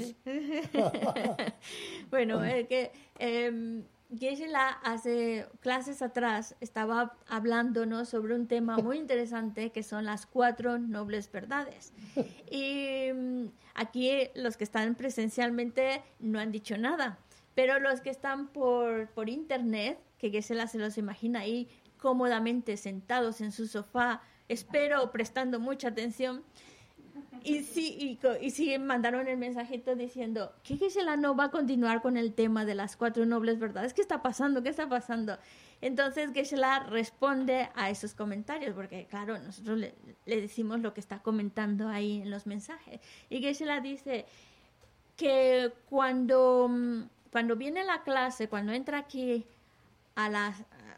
bueno, es que Geshe-la hace clases atrás estaba hablándonos sobre un tema muy interesante que son las 4 nobles verdades. Y aquí los que están presencialmente no han dicho nada, pero los que están por internet, que Geshe-la se los imagina ahí cómodamente sentados en su sofá, espero prestando mucha atención. Y sí mandaron el mensajito diciendo que Geshe-la no va a continuar con el tema de las 4 nobles verdades. ¿Qué está pasando? ¿Qué está pasando? Entonces Geshe-la responde a esos comentarios, porque claro, nosotros le decimos lo que está comentando ahí en los mensajes. Y Geshe-la dice, que cuando viene la clase, cuando entra aquí a la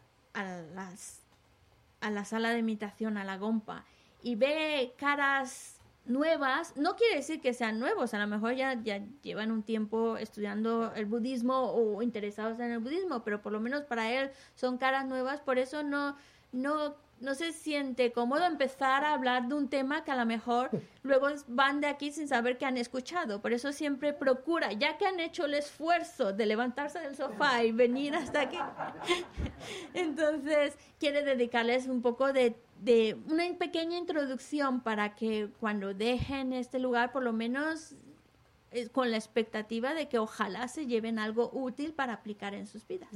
sala de imitación, a la gompa, y ve caras nuevas, no quiere decir que sean nuevos, a lo mejor ya llevan un tiempo estudiando el budismo o interesados en el budismo, pero por lo menos para él son caras nuevas, por eso no se siente cómodo empezar a hablar de un tema que a lo mejor luego van de aquí sin saber que han escuchado. Por eso siempre procura, ya que han hecho el esfuerzo de levantarse del sofá y venir hasta aquí, entonces quiere dedicarles un poco de una pequeña introducción para que cuando dejen este lugar, por lo menos con la expectativa de que ojalá se lleven algo útil para aplicar en sus vidas.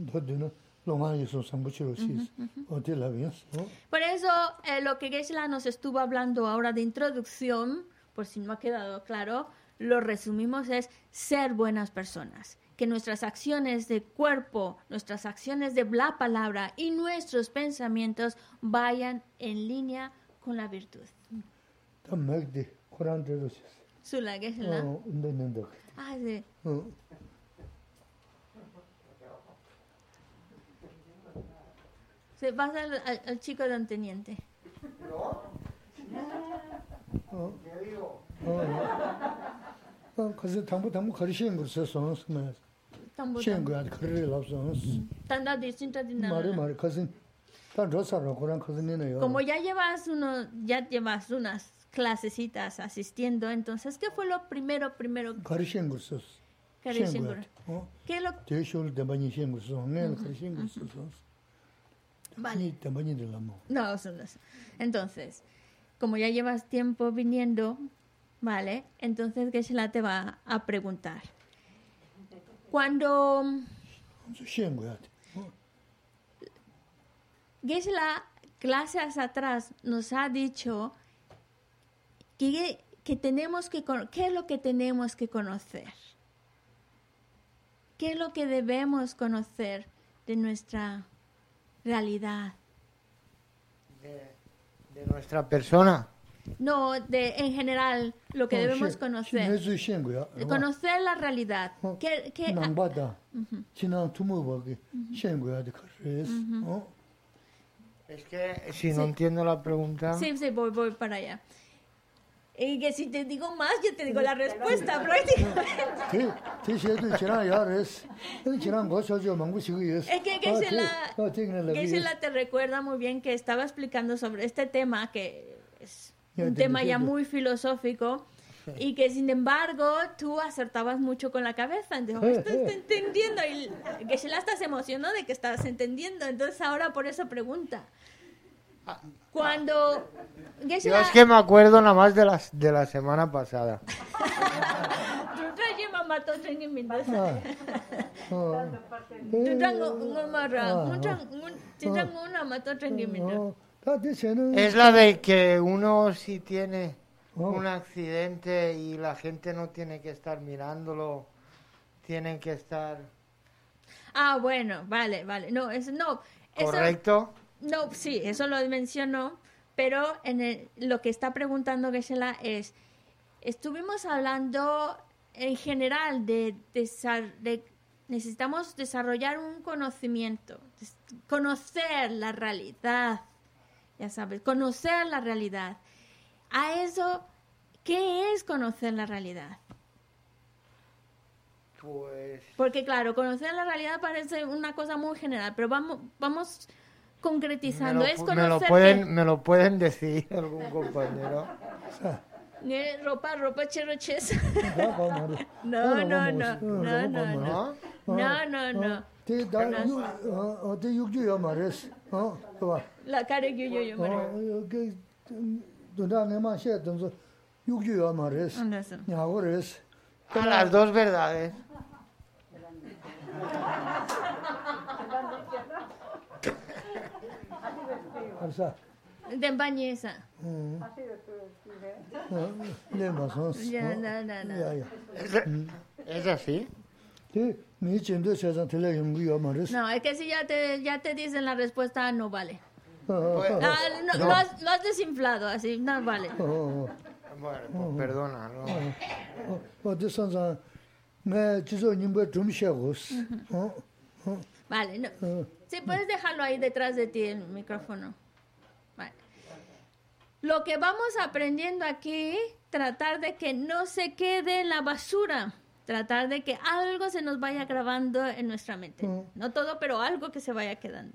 Por eso lo que Geshe-la nos estuvo hablando ahora de introducción, por si no ha quedado claro, lo resumimos es ser buenas personas. Que nuestras acciones de cuerpo, nuestras acciones de la palabra y nuestros pensamientos vayan en línea con la virtud. Sula, Geshe-la. Ah, sí. Se pasa al chico don teniente. Como ya llevas unas clasecitas asistiendo, entonces, ¿qué fue lo primero? ¿Qué es lo Vale. No, entonces, como ya llevas tiempo viniendo, ¿vale? Entonces Geshe-la te va a preguntar. Cuando Geshe-la, clases atrás, nos ha dicho que tenemos que ¿qué es lo que tenemos que conocer? ¿Qué es lo que debemos conocer de nuestra realidad? De nuestra persona. No, en general, lo que debemos conocer. Conocer la realidad. Es que si no entiendo la pregunta... Sí, voy para allá. Y que si te digo más, yo te digo la respuesta prácticamente. Es que Geshe-la te recuerda muy bien que estaba explicando sobre este tema, que es un tema ya muy filosófico, y que sin embargo tú acertabas mucho con la cabeza. Entonces, estoy entendiendo, y Geshe-la estás emocionado de que estás entendiendo, entonces ahora por eso pregunta. Cuando Yo es que me acuerdo nada más de la semana pasada. Es la de que uno si tiene un accidente y la gente no tiene que estar mirándolo, tienen que estar... Ah, bueno, vale. No, eso no. ¿Correcto? No, sí, eso lo mencionó, pero lo que está preguntando Geshe-la es, estuvimos hablando en general de necesitamos desarrollar un conocimiento, conocer la realidad, ya sabes, conocer la realidad. A eso, ¿qué es conocer la realidad? Pues... Porque claro, conocer la realidad parece una cosa muy general, pero vamos concretizando. ¿Me lo pueden decir algún compañero? Ropa cheroches. No. La cara yo A las dos verdades. De empañeza. ¿Es así? No, es que si ya te dicen la respuesta, no vale. Lo has desinflado, así, no vale. Bueno, pues perdona, ¿no? Vale, no. Sí, puedes dejarlo ahí detrás de ti, el micrófono. Vale. Lo que vamos aprendiendo aquí, tratar de que no se quede en la basura. Tratar de que algo se nos vaya grabando en nuestra mente. No todo, pero algo que se vaya quedando.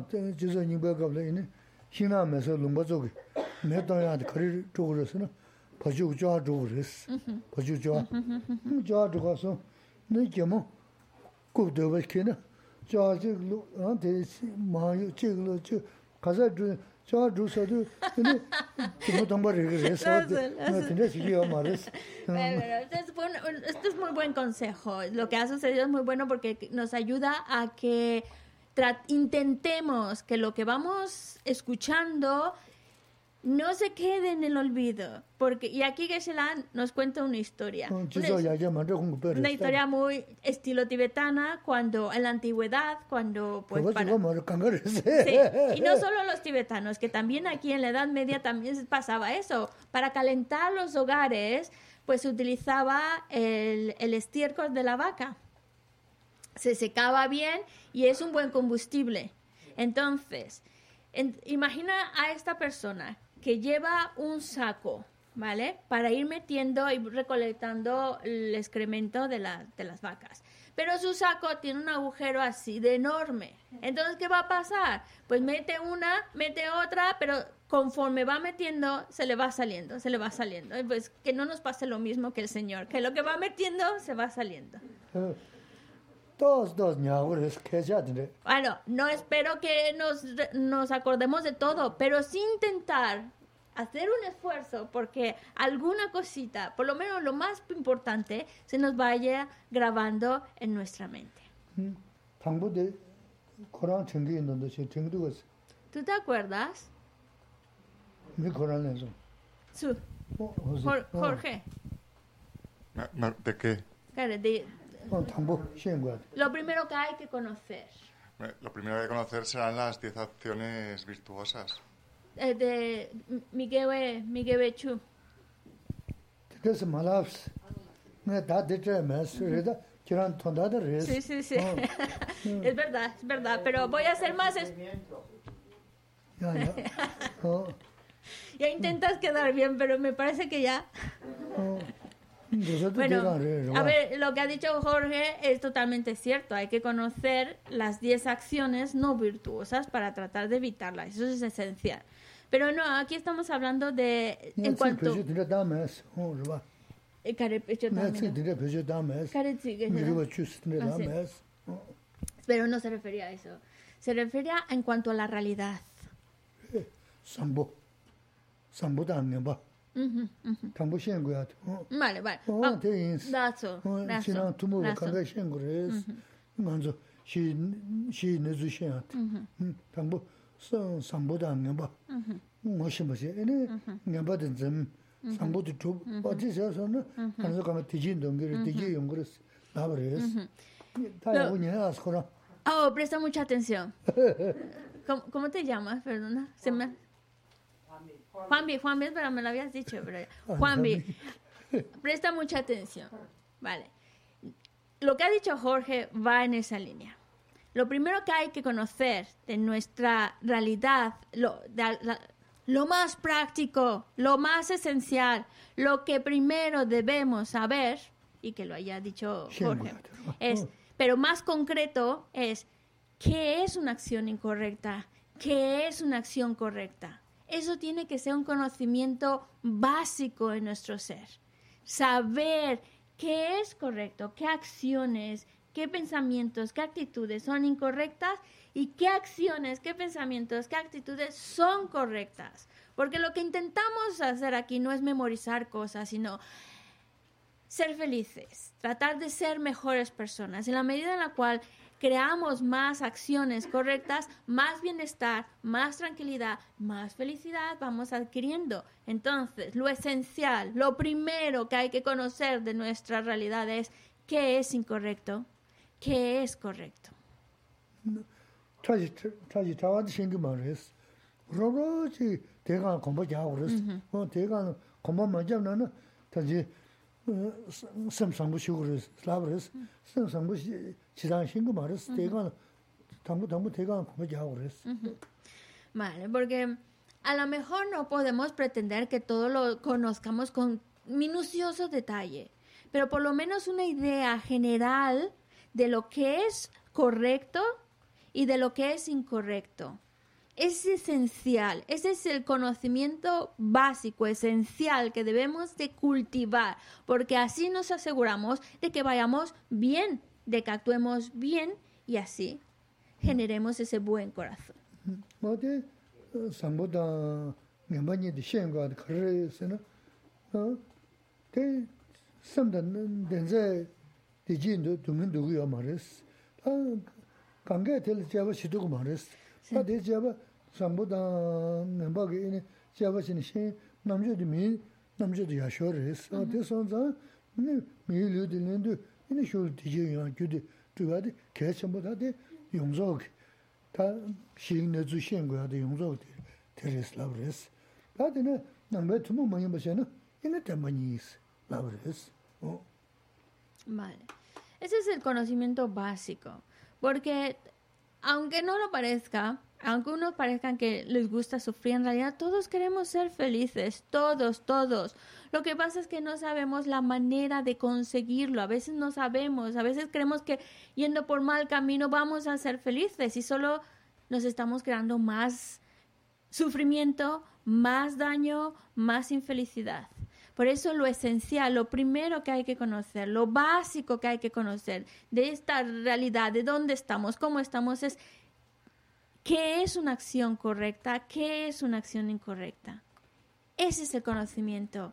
Esto es muy buen consejo. Lo que ha sucedido es muy bueno porque nos ayuda a que intentemos que lo que vamos escuchando no se quede en el olvido. Y aquí Geshe-la nos cuenta una historia. Una historia muy estilo tibetana, cuando en la antigüedad, cuando... Pues, sí, y no solo los tibetanos, que también aquí en la Edad Media también pasaba eso. Para calentar los hogares, pues se utilizaba el estiércol de la vaca. Se secaba bien y es un buen combustible. Entonces, imagina a esta persona que lleva un saco, ¿vale? Para ir metiendo y recolectando el excremento de las vacas. Pero su saco tiene un agujero así de enorme. Entonces, ¿qué va a pasar? Pues mete una, mete otra, pero conforme va metiendo, se le va saliendo. Pues que no nos pase lo mismo que el Señor, que lo que va metiendo se va saliendo. Bueno, no espero que nos acordemos de todo, pero sí intentar hacer un esfuerzo porque alguna cosita, por lo menos lo más importante, se nos vaya grabando en nuestra mente. ¿Tú te acuerdas? Jorge. ¿De qué? Lo primero que hay que conocer. Lo primero que hay que conocer serán las 10 acciones virtuosas. De Migewe Chu. Sí. Es verdad, pero voy a hacer más. Ya intentas quedar bien, pero me parece que ya. Bueno, a ver, lo que ha dicho Jorge es totalmente cierto. Hay que conocer las 10 acciones no virtuosas para tratar de evitarlas. Eso es esencial. Pero no, aquí estamos hablando de... En cuanto... Pero no se refería a eso. Se refería en cuanto a la realidad. Vale. Oh, presta mucha atención. ¿Cómo te llamas? Perdona. Juanvi, pero me lo habías dicho. Pero Juanvi, presta mucha atención. Vale. Lo que ha dicho Jorge va en esa línea. Lo primero que hay que conocer de nuestra realidad, lo más práctico, lo más esencial, lo que primero debemos saber, y que lo haya dicho Jorge, pero más concreto es qué es una acción incorrecta, qué es una acción correcta. Eso tiene que ser un conocimiento básico en nuestro ser. Saber qué es correcto, qué acciones, qué pensamientos, qué actitudes son incorrectas y qué acciones, qué pensamientos, qué actitudes son correctas. Porque lo que intentamos hacer aquí no es memorizar cosas, sino ser felices, tratar de ser mejores personas. En la medida en la cual creamos más acciones correctas, más bienestar, más tranquilidad, más felicidad vamos adquiriendo. Entonces, lo esencial, lo primero que hay que conocer de nuestra realidad es qué es incorrecto, qué es correcto. como majamna taji samsambu shugures labres samsambu chidan shingo mares tegan tambu tegan como jagures. Vale, porque a lo mejor no podemos pretender que todo lo conozcamos con minucioso detalle, pero por lo menos una idea general de lo que es correcto y de lo que es incorrecto. Es esencial, ese es el conocimiento básico, esencial que debemos de cultivar, porque así nos aseguramos de que vayamos bien, de que actuemos bien y así generemos ese buen corazón. Mate samboda ngamani de shenga de kresena te samdan denze de jindo tumundu yo mares kange tel java shidu mares ade java samboda ngambage ne java sin shen namje de mi namje de yashores ade sonza ne mi lu de lendu ne shul de jiyan jude tuade keshamboda de yongzog 다 시행내 주시는 거야 돼 용서 테레스 라브레스 다들 남배 투모 많이 보셔는 이네 때문에 라브레스 Vale. Ese es el conocimiento básico, porque aunque no lo parezca, aunque unos parezcan que les gusta sufrir, en realidad todos queremos ser felices, todos. Lo que pasa es que no sabemos la manera de conseguirlo, a veces no sabemos, a veces creemos que yendo por mal camino vamos a ser felices y solo nos estamos creando más sufrimiento, más daño, más infelicidad. Por eso lo esencial, lo primero que hay que conocer, lo básico que hay que conocer de esta realidad, de dónde estamos, cómo estamos, es qué es una acción correcta, qué es una acción incorrecta. Ese es el conocimiento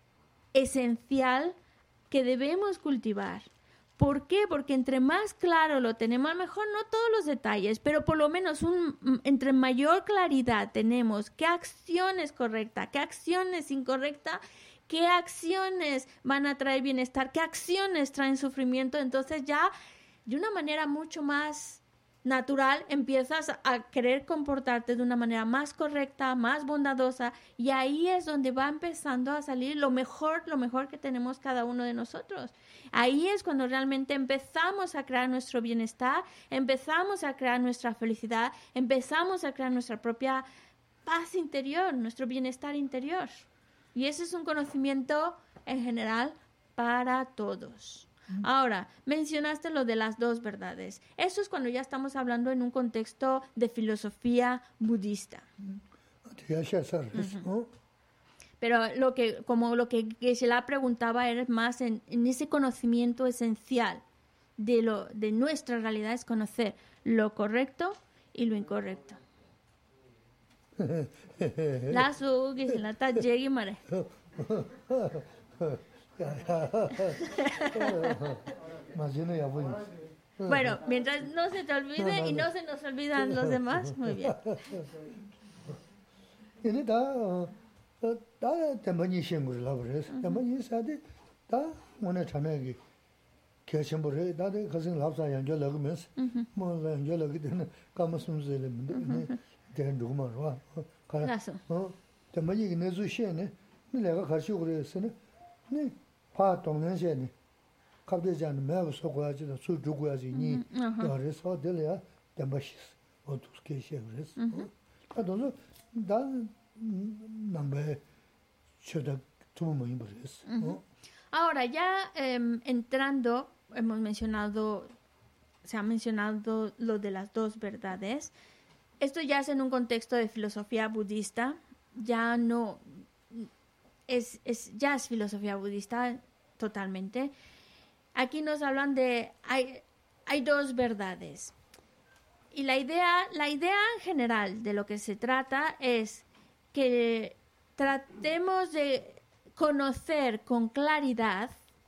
esencial que debemos cultivar. ¿Por qué? Porque entre más claro lo tenemos, a lo mejor no todos los detalles, pero por lo menos entre mayor claridad tenemos qué acción es correcta, qué acción es incorrecta, qué acciones van a traer bienestar, qué acciones traen sufrimiento, entonces ya de una manera mucho más natural empiezas a querer comportarte de una manera más correcta, más bondadosa, y ahí es donde va empezando a salir lo mejor que tenemos cada uno de nosotros. Ahí es cuando realmente empezamos a crear nuestro bienestar, empezamos a crear nuestra felicidad, empezamos a crear nuestra propia paz interior, nuestro bienestar interior. Y ese es un conocimiento en general para todos. Ahora, mencionaste lo de las dos verdades. Eso es cuando ya estamos hablando en un contexto de filosofía budista. Pero lo que Geshe-la preguntaba era más en ese conocimiento esencial de nuestra realidad, es conocer lo correcto y lo incorrecto. Lazo Geshe-la está llegui mare. Bueno, mientras no se te olvide y no se nos olvidan los demás, muy bien. 파 동년세네 갑자기 매우 소고야지 수 주고야지 니 그래서 될이야 담바시스 어떻게 시작했어 아도서 다 남배 쳐다 tuvo muy importante. Ahora ya entrando, se ha mencionado lo de las dos verdades. Esto ya es en un contexto de filosofía budista, ya no ya es filosofía budista totalmente. Aquí nos hablan de hay dos verdades. Y la idea en general de lo que se trata es que tratemos de conocer con claridad,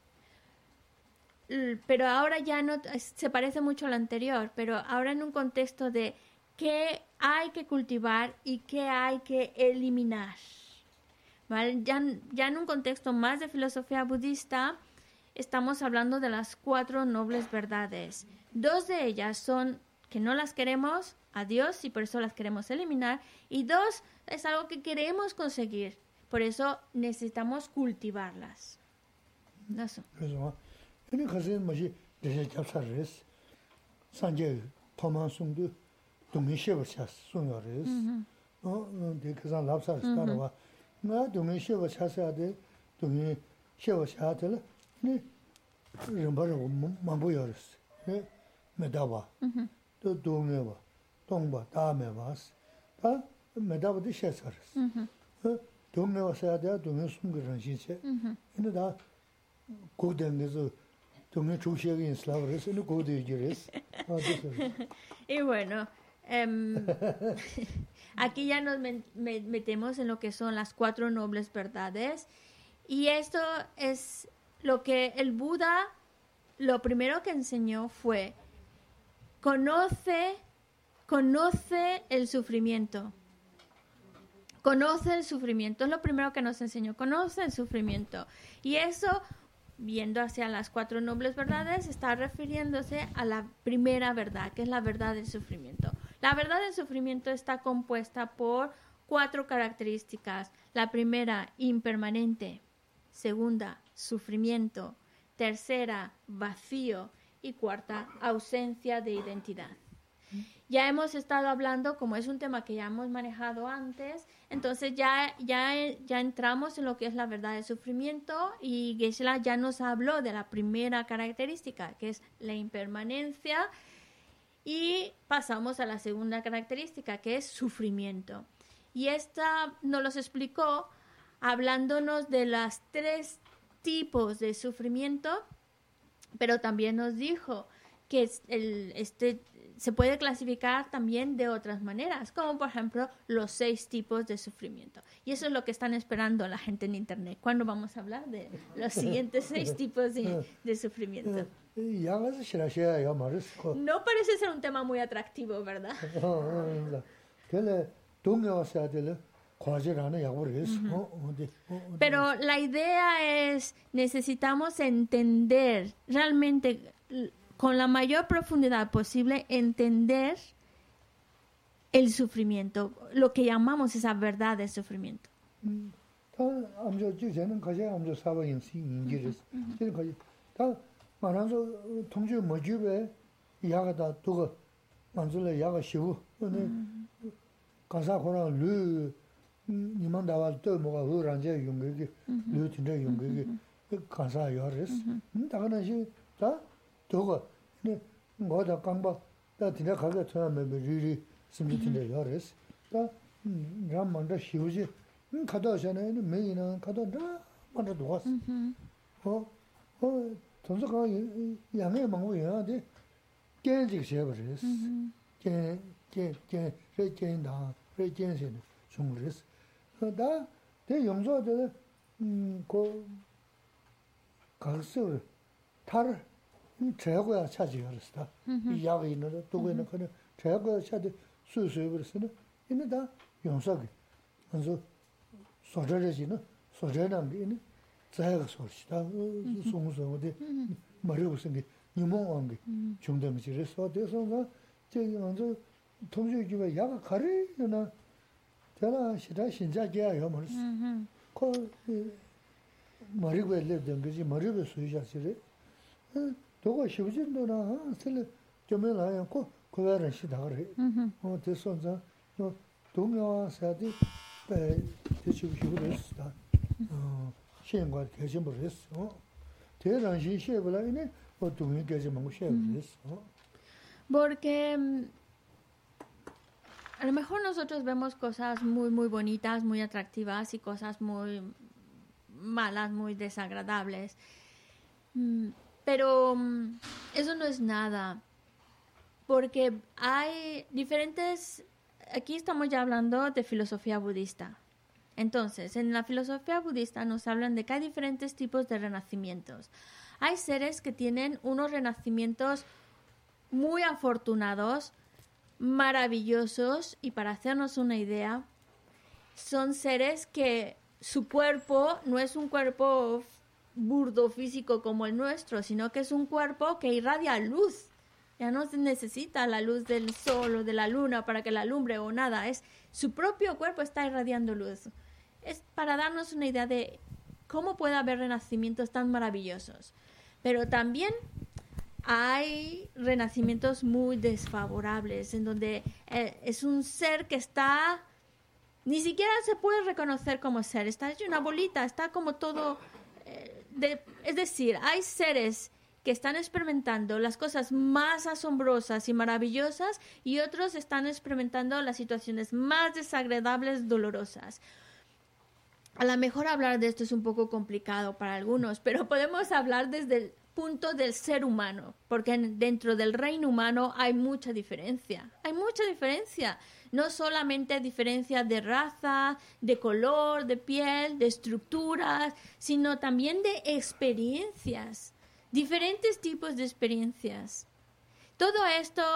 pero ahora ya no se parece mucho a lo anterior, pero ahora en un contexto de qué hay que cultivar y qué hay que eliminar. ¿Vale? Ya en un contexto más de filosofía budista, estamos hablando de las 4 nobles verdades. 2 de ellas son que no las queremos a Dios y por eso las queremos eliminar. Y 2 es algo que queremos conseguir. Por eso necesitamos cultivarlas. Eso. 그래서 근데 가서 뭐지 대체 잡사르스 산제 토만송도 동의시버샷 송여르스 대그사 랍사스 따라와 나 동의시버샷야 돼 동의시버샷을 네 rembaru mambu yoris. Medaba. To dongeba. Dongba, damebas. Ta medaba de shesaris. Dongeba sayada dongya sumgiran shinche. Ina da godengezo dongya chushegi inslavaris, ina godegiris. Y bueno, aquí ya nos metemos en lo que son las 4 nobles verdades. Y esto es lo que el Buda, lo primero que enseñó fue, conoce el sufrimiento. Conoce el sufrimiento, es lo primero que nos enseñó, conoce el sufrimiento. Y eso, viendo hacia las 4 nobles verdades, está refiriéndose a la primera verdad, que es la verdad del sufrimiento. La verdad del sufrimiento está compuesta por 4 características. La primera, impermanente. Segunda, sufrimiento. Tercera, vacío. Y cuarta, ausencia de identidad. Ya hemos estado hablando, como es un tema que ya hemos manejado antes, entonces ya entramos en lo que es la verdad del sufrimiento, y Geshe-la ya nos habló de la primera característica, que es la impermanencia, y pasamos a la segunda característica, que es sufrimiento. Y esta nos los explicó hablándonos de los 3 tipos de sufrimiento, pero también nos dijo que se puede clasificar también de otras maneras, como por ejemplo los 6 tipos de sufrimiento. Y eso es lo que están esperando la gente en Internet. ¿Cuándo vamos a hablar de los siguientes 6 tipos de sufrimiento? No parece ser un tema muy atractivo, ¿verdad? Pero la idea es, necesitamos entender realmente, con la mayor profundidad posible, entender el sufrimiento, lo que llamamos esa verdad del sufrimiento. 니만다와 또 뭐가 우란제 용객이 류틴데 용객이 가사 요르스 다가나시 다 도가 네 뭐다 강바 다 디나 가게 처음에 리리 심지틴데 요르스 다 ramman다 시우지 가다잖아요 메이나 가다다 만다 도왔어 전서가 양해 망고야 돼 깨지게 세버렸어 깨다 레젠신 중그랬어 다 대용조들 그 가서 탈 제거야 차지였다 이 약이 있는데 두고 있는 거는 제거야 차지 수수해 버렸으나 이는다 용서기 그래서 소저지는 소저는 게 제가 소시다 송송데 말이고 생기 니모한 게 중점지에서 돼서 저기 먼저 통주기가 약을 가리나 제가 시다 신자기야요 말스. 그 머리고 엘레던 거지 머리로 수의자시래. 도가 쉬우진도나 쓸 좀에라요. 그거를 시다 그래. 됐어서 또 동료사디 대치고 싶었다. 시행과 대신 버렸어. 대단히 시해버라니 뭐 동료께서 먹고 시해버렸어. Porque a lo mejor nosotros vemos cosas muy, muy bonitas, muy atractivas, y cosas muy malas, muy desagradables. Pero eso no es nada. Porque hay diferentes... Aquí estamos ya hablando de filosofía budista. Entonces, en la filosofía budista nos hablan de que hay diferentes tipos de renacimientos. Hay seres que tienen unos renacimientos muy afortunados, maravillosos, y para hacernos una idea, son seres que su cuerpo no es un cuerpo burdo físico como el nuestro, sino que es un cuerpo que irradia luz. Ya no se necesita la luz del sol o de la luna para que la alumbre o nada, es su propio cuerpo está irradiando luz. es para darnos una idea de cómo puede haber renacimientos tan maravillosos. Pero también hay renacimientos muy desfavorables, en donde es un ser que está... Ni siquiera se puede reconocer como ser. Está hecho una bolita, está como todo... es decir, hay seres que están experimentando las cosas más asombrosas y maravillosas y otros están experimentando las situaciones más desagradables, dolorosas. A lo mejor hablar de esto es un poco complicado para algunos, pero podemos hablar desde el punto del ser humano, porque dentro del reino humano hay mucha diferencia. Hay mucha diferencia. No solamente diferencia de raza, de color, de piel, de estructuras, sino también de experiencias. Diferentes tipos de experiencias. Todo esto,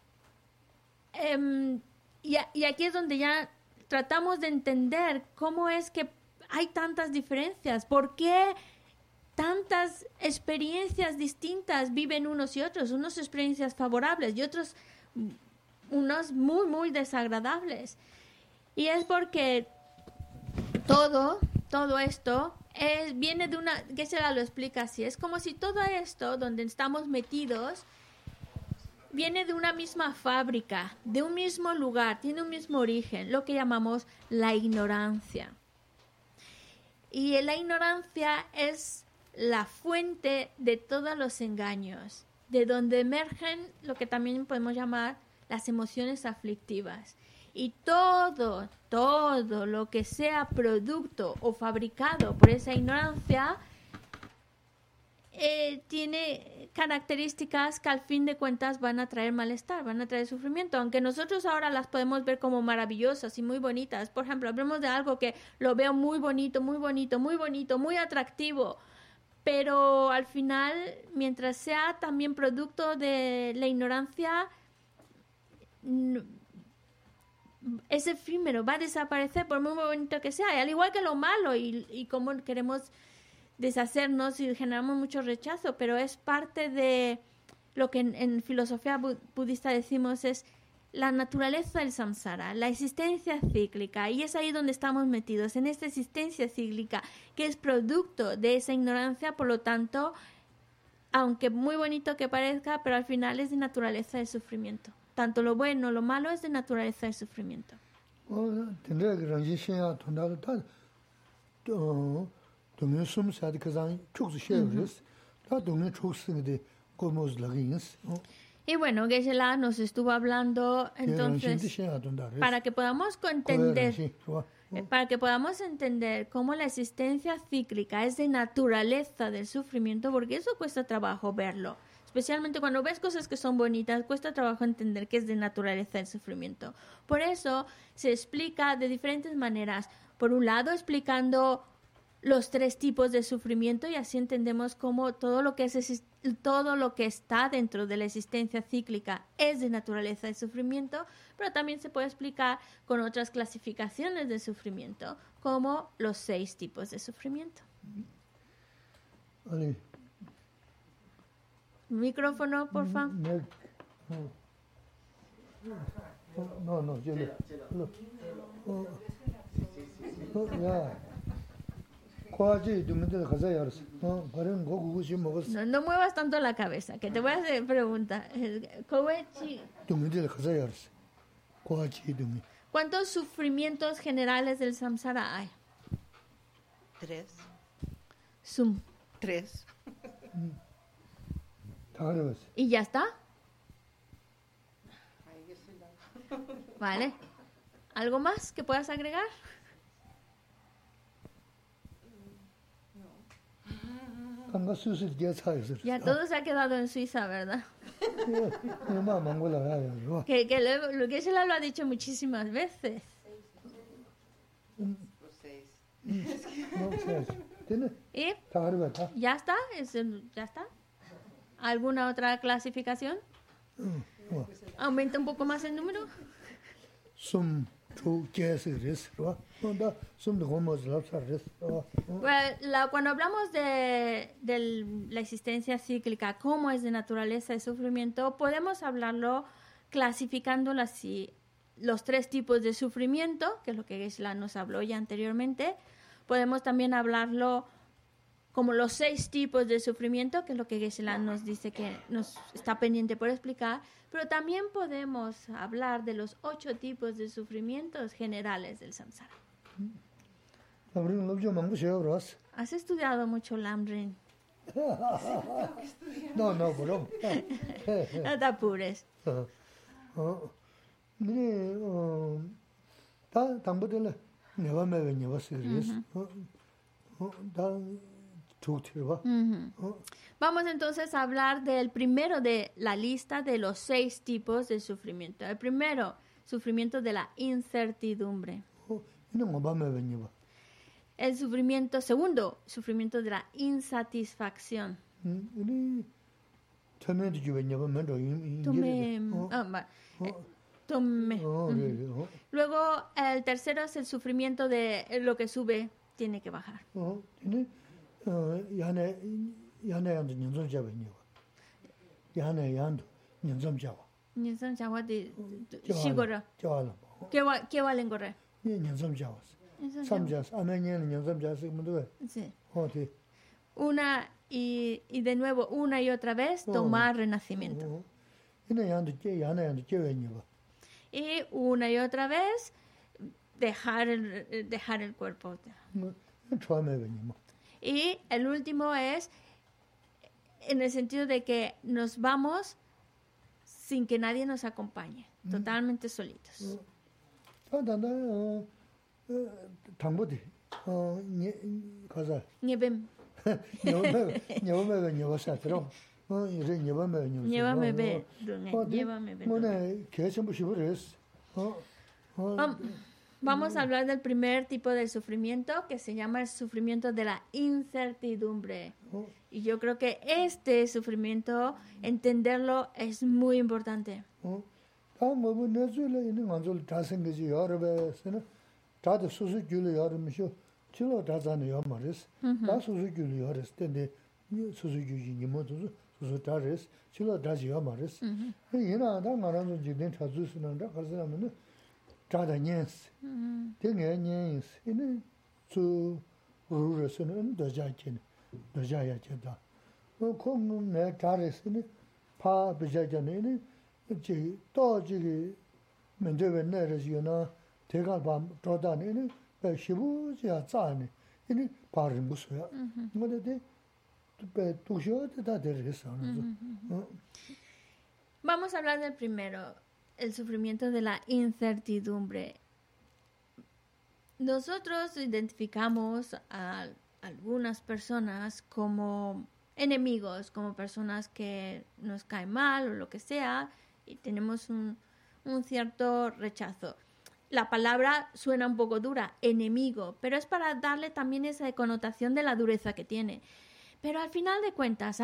y aquí es donde ya tratamos de entender cómo es que hay tantas diferencias, por qué tantas experiencias distintas viven unos y otros, unas experiencias favorables y otros unos muy, muy desagradables. Y es porque todo esto viene de una, que se lo explica así, es como si todo esto donde estamos metidos viene de una misma fábrica, de un mismo lugar, tiene un mismo origen, lo que llamamos la ignorancia. Y la ignorancia es la fuente de todos los engaños, de donde emergen lo que también podemos llamar las emociones aflictivas. Y todo lo que sea producto o fabricado por esa ignorancia tiene características que al fin de cuentas van a traer malestar, van a traer sufrimiento, aunque nosotros ahora las podemos ver como maravillosas y muy bonitas. Por ejemplo, hablemos de algo que lo veo muy bonito, muy bonito, muy bonito, muy atractivo, pero al final, mientras sea también producto de la ignorancia, es efímero, va a desaparecer por muy bonito que sea, y al igual que lo malo y cómo queremos deshacernos y generamos mucho rechazo, pero es parte de lo que en filosofía budista decimos es la naturaleza del samsara, la existencia cíclica, y es ahí donde estamos metidos, en esta existencia cíclica que es producto de esa ignorancia. Por lo tanto, aunque muy bonito que parezca, pero al final es de naturaleza del sufrimiento. Tanto lo bueno, lo malo es de naturaleza del sufrimiento. Y bueno, Geshe-la nos estuvo hablando entonces para que podamos entender cómo la existencia cíclica es de naturaleza del sufrimiento, porque eso cuesta trabajo verlo. Especialmente cuando ves cosas que son bonitas, cuesta trabajo entender que es de naturaleza del sufrimiento. Por eso se explica de diferentes maneras. Por un lado, explicando los 3 tipos de sufrimiento, y así entendemos cómo todo lo que está dentro de la existencia cíclica es de naturaleza del sufrimiento, pero también se puede explicar con otras clasificaciones de sufrimiento, como los 6 tipos de sufrimiento. Vale. Micrófono, por favor. No, yo No muevas tanto la cabeza, que te voy a hacer pregunta. ¿Cuántos sufrimientos generales del samsara hay? 3. 3. ¿Y ya está? Vale. ¿Algo más que puedas agregar? Ya todo se ha quedado en Suiza, ¿verdad? que Geshe-la lo ha dicho muchísimas veces. ¿Y? ¿Ya está? ¿Ya está? ¿Alguna otra clasificación? ¿Aumenta un poco más el número? Cuando hablamos de la existencia cíclica, cómo es de naturaleza el sufrimiento, podemos hablarlo clasificándolo así. los 3 tipos de sufrimiento, que es lo que Geshe-la nos habló ya anteriormente. Podemos también hablarlo como los 6 tipos de sufrimiento, que es lo que Geshe-la nos dice que nos está pendiente por explicar. Pero también podemos hablar de los 8 tipos de sufrimientos generales del samsara. ¿Has estudiado mucho Lamrim? No, bro. No te apures. Vamos entonces a hablar del primero de la lista de los 6 tipos de sufrimiento. El primero, sufrimiento de la incertidumbre. El sufrimiento, segundo, sufrimiento de la insatisfacción. Luego, el tercero es el sufrimiento de lo que sube, tiene que bajar. ¿Qué valen correr? Sí. Una y de nuevo, una y otra vez, tomar renacimiento. Y una y otra vez, dejar el cuerpo. Y el último es en el sentido de que nos vamos sin que nadie nos acompañe, totalmente solitos. Niebem. Vamos a hablar del primer tipo de sufrimiento que se llama el sufrimiento de la incertidumbre. Y yo creo que este sufrimiento, entenderlo es muy importante. Vamos a hablar del primero, el sufrimiento de la incertidumbre. Nosotros identificamos a algunas personas como enemigos, como personas que nos caen mal o lo que sea, y tenemos un cierto rechazo. La palabra suena un poco dura, enemigo, pero es para darle también esa connotación de la dureza que tiene. Pero al final de cuentas,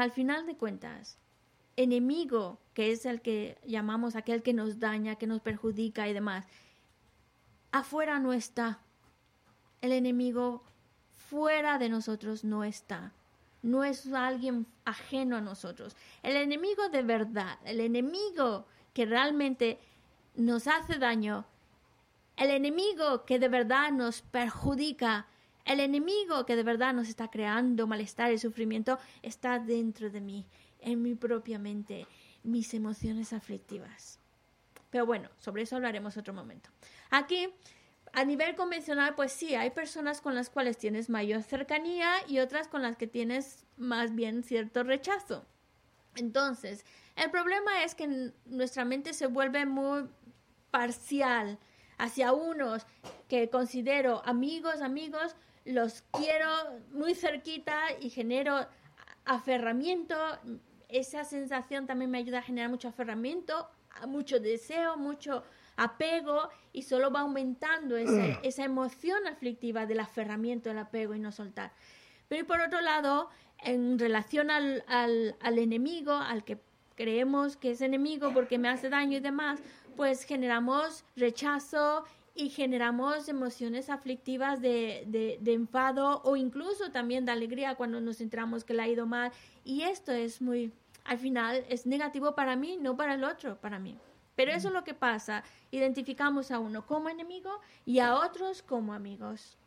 enemigo, que es el que llamamos aquel que nos daña, que nos perjudica y demás, afuera no está. El enemigo fuera de nosotros no está. No es alguien ajeno a nosotros. El enemigo de verdad, el enemigo que realmente nos hace daño, el enemigo que de verdad nos perjudica, el enemigo que de verdad nos está creando malestar y sufrimiento, está dentro de mí, en mi propia mente, mis emociones aflictivas. Pero bueno, sobre eso hablaremos otro momento. Aquí, a nivel convencional, pues sí, hay personas con las cuales tienes mayor cercanía y otras con las que tienes más bien cierto rechazo. Entonces, el problema es que nuestra mente se vuelve muy parcial hacia unos que considero amigos, los quiero muy cerquita y genero aferramiento. Esa sensación también me ayuda a generar mucho aferramiento, mucho deseo, mucho apego, y solo va aumentando esa emoción aflictiva del aferramiento, del apego y no soltar. Pero por otro lado, en relación al enemigo, al que creemos que es enemigo porque me hace daño y demás, pues generamos rechazo y generamos emociones aflictivas de enfado o incluso también de alegría cuando nos enteramos que le ha ido mal. Y esto es al final es negativo para mí, no para el otro, para mí. Pero eso es lo que pasa. Identificamos a uno como enemigo y a otros como amigos.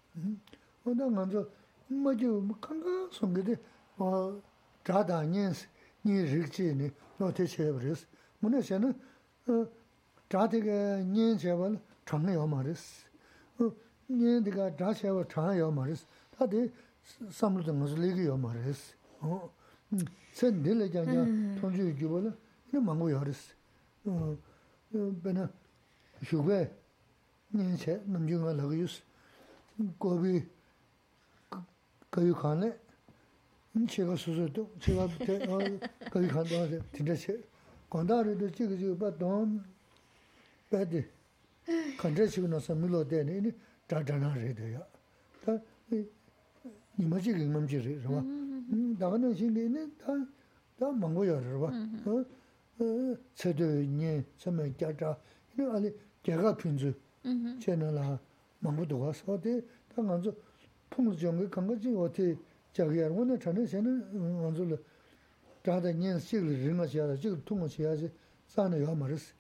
제가 수수도 제가 거기 간다고 진짜 건다르도 지금 돈 배드 컨트레시고 나서 밀어대네 다다나래도요. 다 이마지 경험지를 봐. 나가는 신경이 다 망고요, 봐. 세대니 처음에 자자 이 아니 제가 핀주 채널아 망고도 와서 어디 당한저 풍수정을 간 거지 어떻게 자기야 오늘 전에는 안줄 다다 년식을 링하셔야 지금 통화해야지 싸네요 말았어.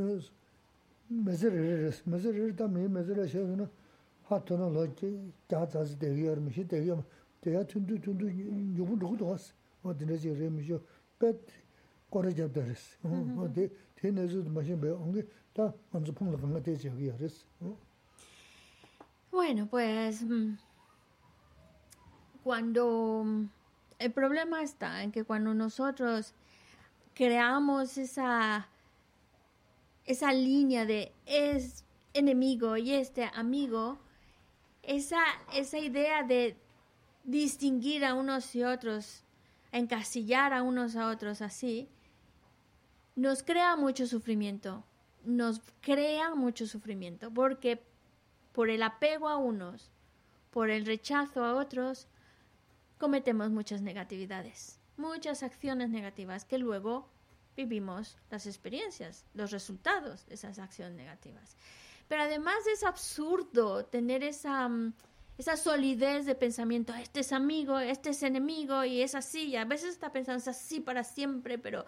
메저를 담에 메저를 하트는 로지 자자지 되게 미시 되게 대야 tundu 요분 누구도 왔어. 어디는지 레미죠. 배 거래잡다랬어. 어디 대내주도 마신 배 온게 다 먼저 풍을 간거 되지 여기 알았어. Bueno, pues cuando el problema está en que cuando nosotros creamos esa línea de es enemigo y este amigo, esa idea de distinguir a unos y otros, encasillar a unos a otros así, nos crea mucho sufrimiento. Porque por el apego a unos, por el rechazo a otros, cometemos muchas negatividades, muchas acciones negativas que luego vivimos las experiencias, los resultados de esas acciones negativas. Pero además es absurdo tener esa solidez de pensamiento, este es amigo, este es enemigo y es así, y a veces está pensando es así para siempre, pero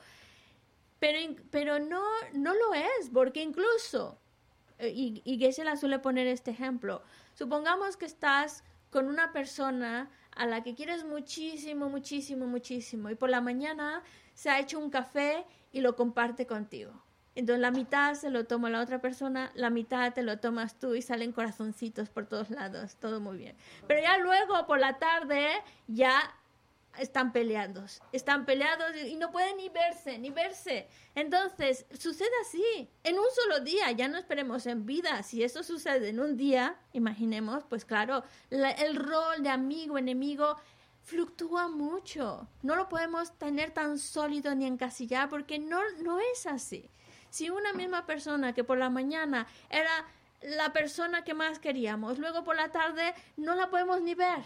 no lo es, porque incluso, y Geshe-la suele poner este ejemplo, supongamos que estás con una persona a la que quieres muchísimo, muchísimo, muchísimo, y por la mañana se ha hecho un café y lo comparte contigo. Entonces la mitad se lo toma la otra persona, la mitad te lo tomas tú y salen corazoncitos por todos lados, todo muy bien. Pero ya luego por la tarde ya están peleados y no pueden ni verse. Entonces sucede así, en un solo día, ya no esperemos en vida. Si eso sucede en un día, imaginemos, pues claro, el rol de amigo, enemigo fluctúa mucho. No lo podemos tener tan sólido ni encasillar porque no es así. Si una misma persona que por la mañana era la persona que más queríamos, luego por la tarde no la podemos ni ver.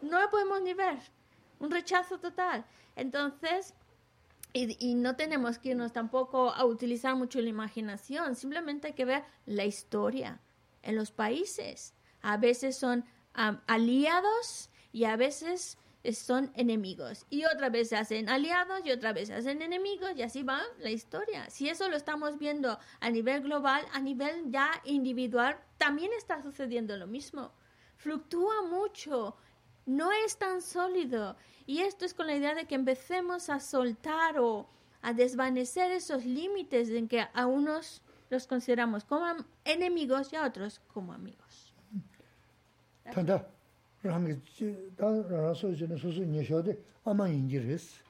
Un rechazo total. Entonces, y no tenemos que irnos tampoco a utilizar mucho la imaginación, simplemente hay que ver la historia en los países. A veces son aliados y a veces son enemigos. Y otra vez se hacen aliados y otra vez se hacen enemigos y así va la historia. Si eso lo estamos viendo a nivel global, a nivel ya individual, también está sucediendo lo mismo. Fluctúa mucho. No es tan sólido. Y esto es con la idea de que empecemos a soltar o a desvanecer esos límites en que a unos los consideramos como enemigos y a otros como amigos. Tanda, rangi da raso jene susu nyeshode ama injires.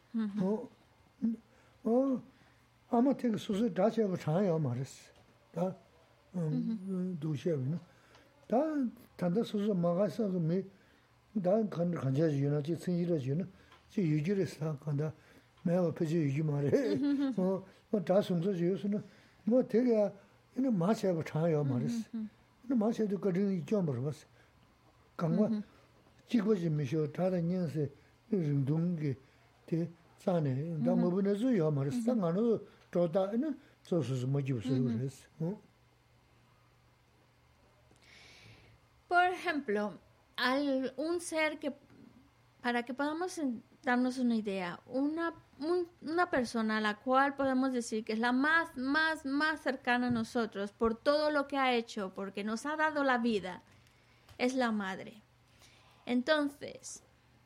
Ama tek susu dacha ba chaya mares. Da dushevina. Da tanda susu magasa me 다 간자지 유나지 생이라지는 지 유지를 간다 매가 표지 유지 말해 다 숨서 지으스는 뭐 되게 이는 마셔가 차요 말았어 근데 마셔도 거기 좀 벌었어 강과 지고지 미셔 다른 년세 운동게 대 산에 다 뭐분에서 요 말았어 상관은 저다는 저수스 뭐 집으로 그랬어 Por ejemplo, un ser que, para que podamos darnos una idea. Una persona a la cual podemos decir que es la más cercana a nosotros por todo lo que ha hecho, porque nos ha dado la vida, es la madre. Entonces,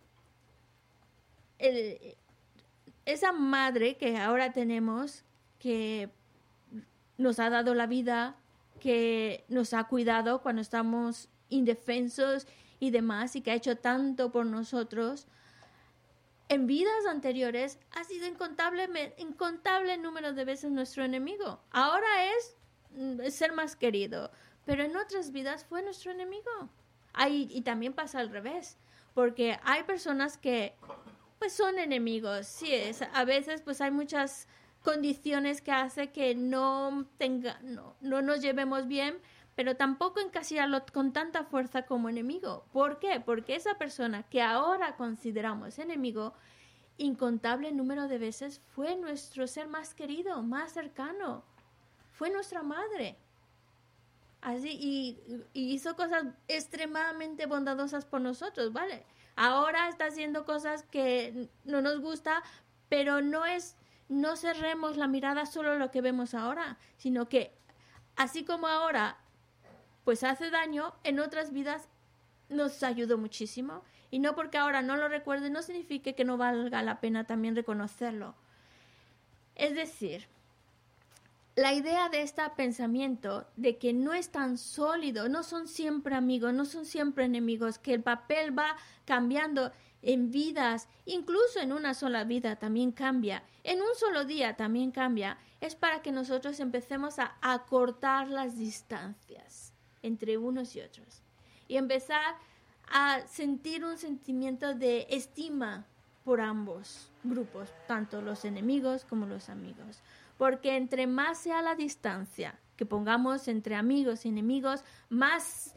esa madre que ahora tenemos, que nos ha dado la vida, que nos ha cuidado cuando estamos indefensos y demás, y que ha hecho tanto por nosotros, en vidas anteriores ha sido incontable número de veces nuestro enemigo. Ahora es ser más querido, pero en otras vidas fue nuestro enemigo. Y también pasa al revés, porque hay personas que pues son enemigos. Sí, a veces pues hay muchas condiciones que hace que no nos llevemos bien, pero tampoco encasillarlo con tanta fuerza como enemigo. ¿Por qué? Porque esa persona que ahora consideramos enemigo, incontable número de veces fue nuestro ser más querido, más cercano. Fue nuestra madre. Así, y hizo cosas extremadamente bondadosas por nosotros, ¿vale? Ahora está haciendo cosas que no nos gusta, pero no cerremos la mirada solo a lo que vemos ahora, sino que así como ahora pues hace daño, en otras vidas nos ayudó muchísimo. Y no porque ahora no lo recuerde, no significa que no valga la pena también reconocerlo. Es decir, la idea de este pensamiento de que no es tan sólido, no son siempre amigos, no son siempre enemigos, que el papel va cambiando en vidas, incluso en una sola vida también cambia, en un solo día también cambia, es para que nosotros empecemos a acortar las distancias entre unos y otros y empezar a sentir un sentimiento de estima por ambos grupos, tanto los enemigos como los amigos. Porque entre más sea la distancia que pongamos entre amigos y enemigos, más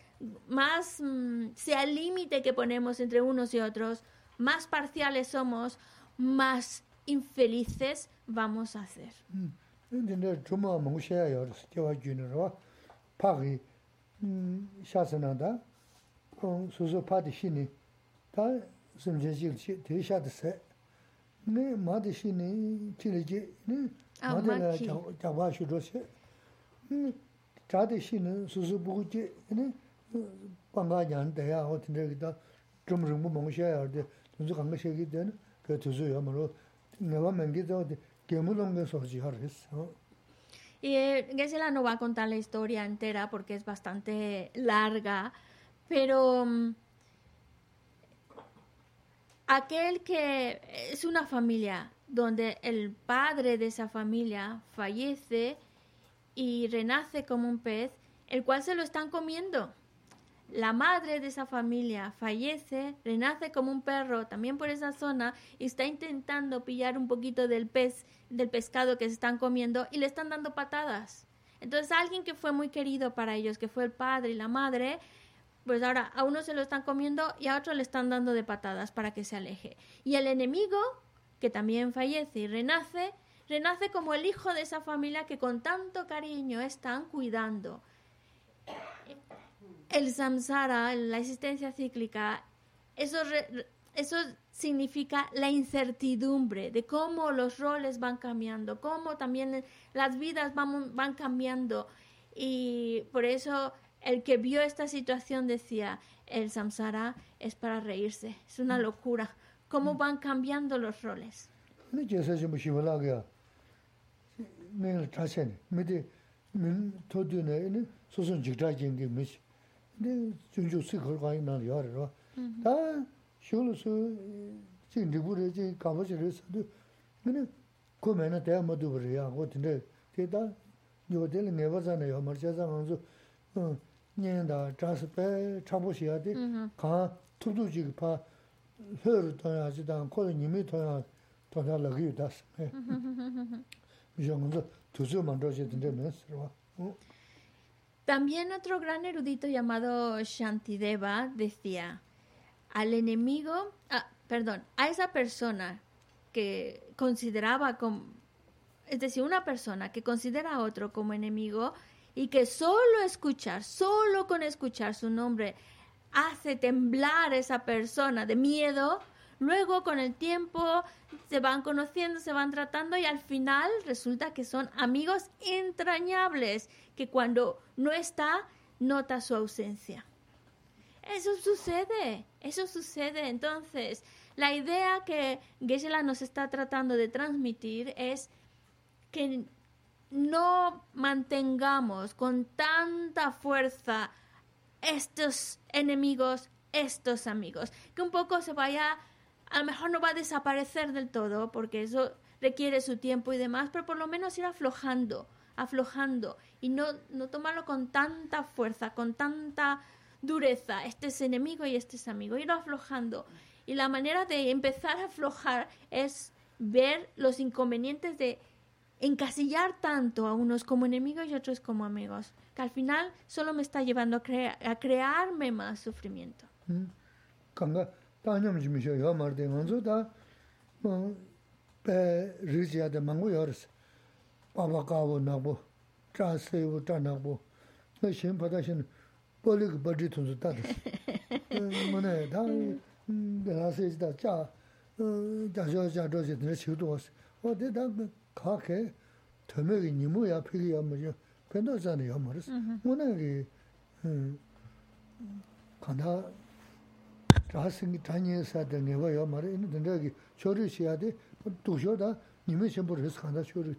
sea el límite que ponemos entre unos y otros, más parciales somos, más infelices vamos a ser. Y Geshe-la no va a contar la historia entera porque es bastante larga, pero aquel que es una familia donde el padre de esa familia fallece y renace como un pez, el cual se lo están comiendo. La madre de esa familia fallece, renace como un perro también por esa zona y está intentando pillar un poquito del pescado que se están comiendo y le están dando patadas. Entonces alguien que fue muy querido para ellos, que fue el padre y la madre, pues ahora a uno se lo están comiendo y a otro le están dando de patadas para que se aleje. Y el enemigo, que también fallece y renace como el hijo de esa familia que con tanto cariño están cuidando. El samsara, la existencia cíclica, eso significa la incertidumbre de cómo los roles van cambiando, cómo también las vidas van cambiando. Y por eso el que vio esta situación decía, el samsara es para reírse, es una locura, cómo van cambiando los roles. También otro gran erudito llamado Shantideva decía, al enemigo, a esa persona que consideraba como, es decir, una persona que considera a otro como enemigo y que solo con escuchar su nombre hace temblar a esa persona de miedo, Luego, con el tiempo, se van conociendo, se van tratando y al final resulta que son amigos entrañables, que cuando no está, nota su ausencia. Eso sucede. Entonces, la idea que Geshe-la nos está tratando de transmitir es que no mantengamos con tanta fuerza estos enemigos, estos amigos, que un poco se vaya, a lo mejor no va a desaparecer del todo, porque eso requiere su tiempo y demás, pero por lo menos ir aflojando, y no tomarlo con tanta fuerza, con tanta dureza, este es enemigo y este es amigo, ir aflojando. Y la manera de empezar a aflojar es ver los inconvenientes de encasillar tanto a unos como enemigos y otros como amigos, que al final solo me está llevando a crearme más sufrimiento. Kanga tañam jimisho yo marde ngonzo da pe rizia de mangu yores. Baba kawo nabo, cha sewo cha nabo. Na shin pada shin polik badi tunzu tadas. Mone da la se da cha ja jo je de chiu dos. O de da ka ke tömegi nimu ya pigi ya mo pendo zane ya mores. Mone ge kana 자생이 다니에서 되는 거요 말이 있는데 여기 쇼르시야 돼 두셔다 님이 전부 해서 간다 쇼르.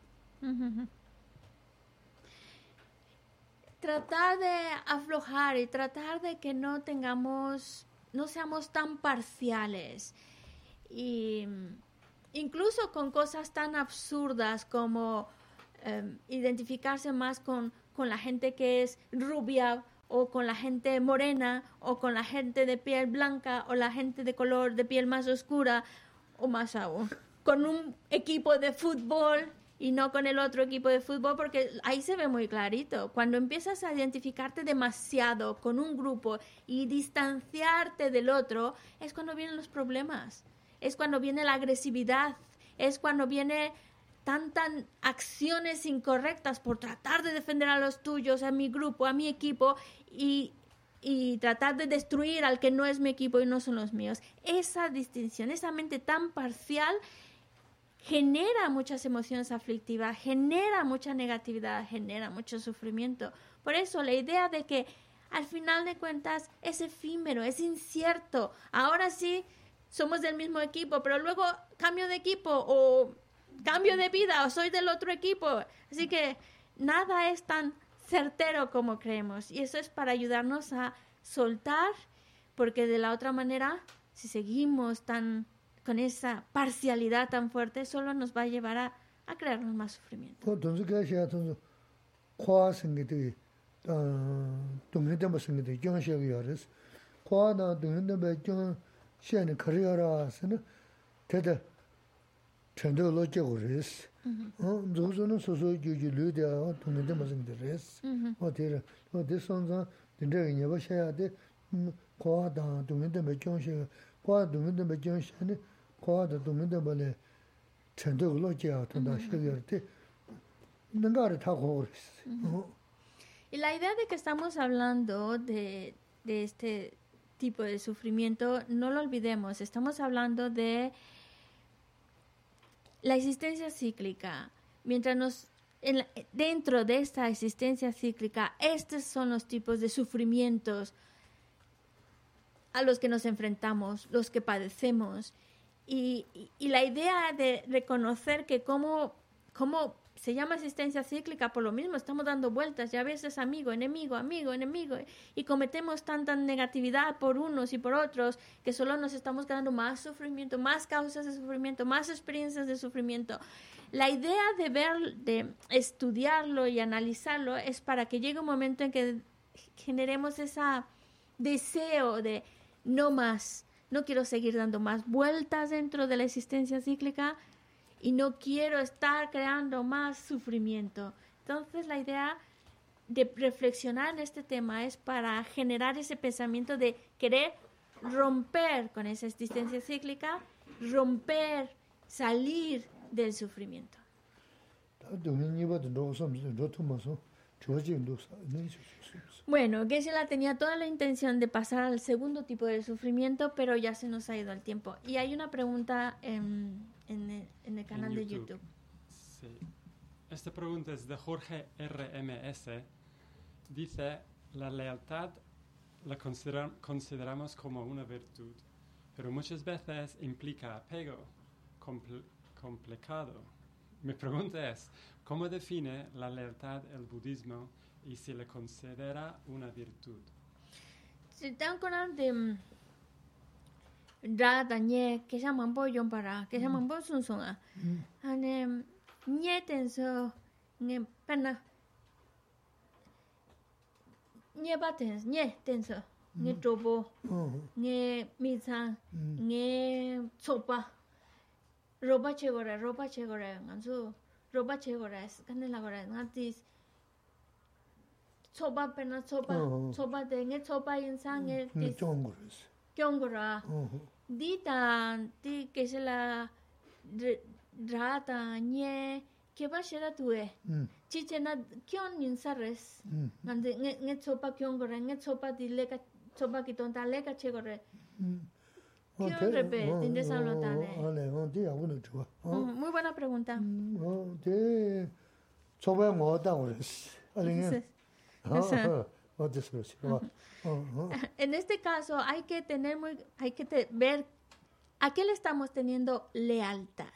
Tratar de aflojar y tratar de que no seamos tan parciales. Y incluso con cosas tan absurdas como identificarse más con la gente que es rubia, o con la gente morena, o con la gente de piel blanca, o la gente de color de piel más oscura, o más aún, con un equipo de fútbol y no con el otro equipo de fútbol, porque ahí se ve muy clarito. Cuando empiezas a identificarte demasiado con un grupo y distanciarte del otro, es cuando vienen los problemas, es cuando viene la agresividad, es cuando viene tantas acciones incorrectas por tratar de defender a los tuyos, a mi grupo, a mi equipo y tratar de destruir al que no es mi equipo y no son los míos. Esa distinción, esa mente tan parcial genera muchas emociones aflictivas, genera mucha negatividad, genera mucho sufrimiento. Por eso la idea de que al final de cuentas es efímero, es incierto. Ahora sí somos del mismo equipo, pero luego cambio de equipo o cambio de vida o soy del otro equipo. Así que nada es tan certero como creemos. Y eso es para ayudarnos a soltar, porque de la otra manera, si seguimos con esa parcialidad tan fuerte, solo nos va a llevar a crearnos más sufrimiento. 전도 로제고 res 조조는 소소 규규 류대야 돈인데 무슨 res 어디를 어디 선자 된데 이거 셔야 돼 과다 돈인데 몇 경시 과 돈인데 몇 경시네 과다 돈인데 뭐래 전도 로제야 돈다 시기할때 뭔가를 타고 res. Y la idea de que estamos hablando de este tipo de sufrimiento, no lo olvidemos, estamos hablando de la existencia cíclica. Mientras dentro de esta existencia cíclica, estos son los tipos de sufrimientos a los que nos enfrentamos, los que padecemos. Y la idea de reconocer que como se llama existencia cíclica por lo mismo, estamos dando vueltas, y a veces amigo, enemigo, y cometemos tanta negatividad por unos y por otros, que solo nos estamos creando más sufrimiento, más causas de sufrimiento, más experiencias de sufrimiento. La idea de estudiarlo y analizarlo es para que llegue un momento en que generemos ese deseo de no más, no quiero seguir dando más vueltas dentro de la existencia cíclica, y no quiero estar creando más sufrimiento. Entonces la idea de reflexionar en este tema es para generar ese pensamiento de querer romper con esa existencia cíclica, salir del sufrimiento. Bueno, Geshe-la tenía toda la intención de pasar al segundo tipo de sufrimiento, pero ya se nos ha ido el tiempo. Y hay una pregunta en el canal de YouTube. Sí. Esta pregunta es de Jorge RMS. Dice, la lealtad la consideramos como una virtud, pero muchas veces implica apego complicado. Mi pregunta es, ¿cómo define la lealtad el budismo y si le considera una virtud? Si están con de Rada Nye, que llaman Boyon para, que llaman Bosun Songa. Ane Nye tenso, Nye pena. Nye batens, Nye tenso, Nye trobo, Nye misa, Nye sopa. Roba chegora, ganso. Roba chegora, es canela gora, natis. Sopa pena sopa de Nye sopa insan, Nye tis. Kyongora. Dita, ti que se la rata, Nye, que va a ser a tue. Chichena, Kyon insares. Ande, Nye sopa Kyongora, Nye sopa di leca, sopa kitonta leca chegora. Kyon repe, tinde salotane. Muy buena pregunta. En este caso hay que ver a qué le estamos teniendo lealtad.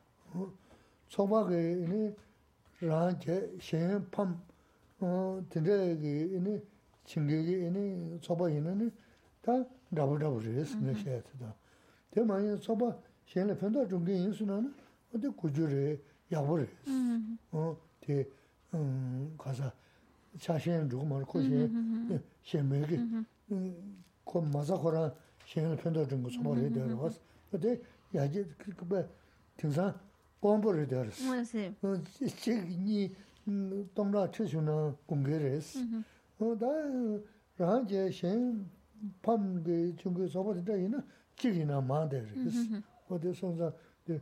자신 누구만 코시 셴메기 그 마사코라 셴을 편도 좀 소모를 되어 왔어. 근데 야지 그거 등산 공부를 되었어. 지니 동라 최순나 공개를 했어. 다 라제 셴 팜게 중국 소모를 되는 길이나 마데르스. 어디선가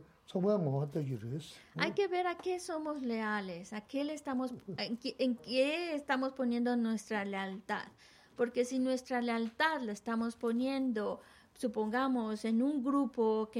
Hay que ver a qué somos leales, a qué le estamos, en qué estamos poniendo nuestra lealtad. Porque si nuestra lealtad la estamos poniendo, supongamos, en un grupo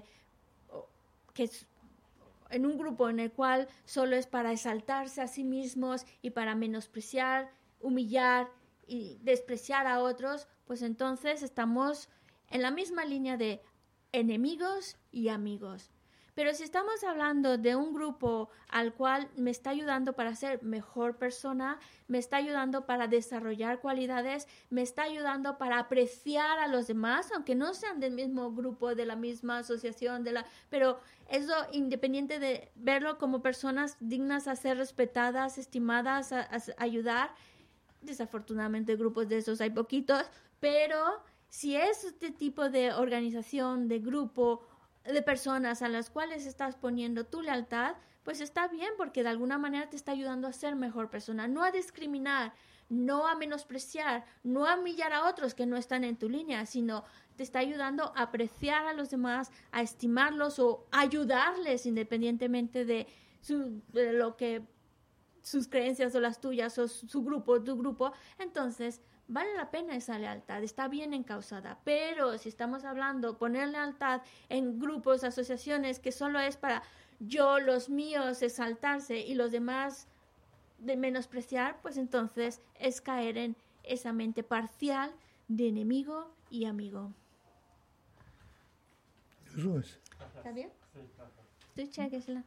en un grupo en el cual solo es para exaltarse a sí mismos y para menospreciar, humillar y despreciar a otros, pues entonces estamos en la misma línea de enemigos y amigos. Pero si estamos hablando de un grupo al cual me está ayudando para ser mejor persona, me está ayudando para desarrollar cualidades, me está ayudando para apreciar a los demás, aunque no sean del mismo grupo, de la misma asociación, pero eso independiente de verlo como personas dignas a ser respetadas, estimadas, a ayudar. Desafortunadamente grupos de esos hay poquitos, pero si es este tipo de organización, de grupo, de personas a las cuales estás poniendo tu lealtad, pues está bien porque de alguna manera te está ayudando a ser mejor persona, no a discriminar, no a menospreciar, no a humillar a otros que no están en tu línea, sino te está ayudando a apreciar a los demás, a estimarlos o ayudarles independientemente de lo que sus creencias o las tuyas o su grupo, tu grupo. Entonces vale la pena esa lealtad, está bien encausada. Pero si estamos hablando, poner lealtad en grupos, asociaciones, que solo es para yo, los míos, exaltarse y los demás de menospreciar, pues entonces es caer en esa mente parcial de enemigo y amigo. ¿Está bien? Tú chequesla.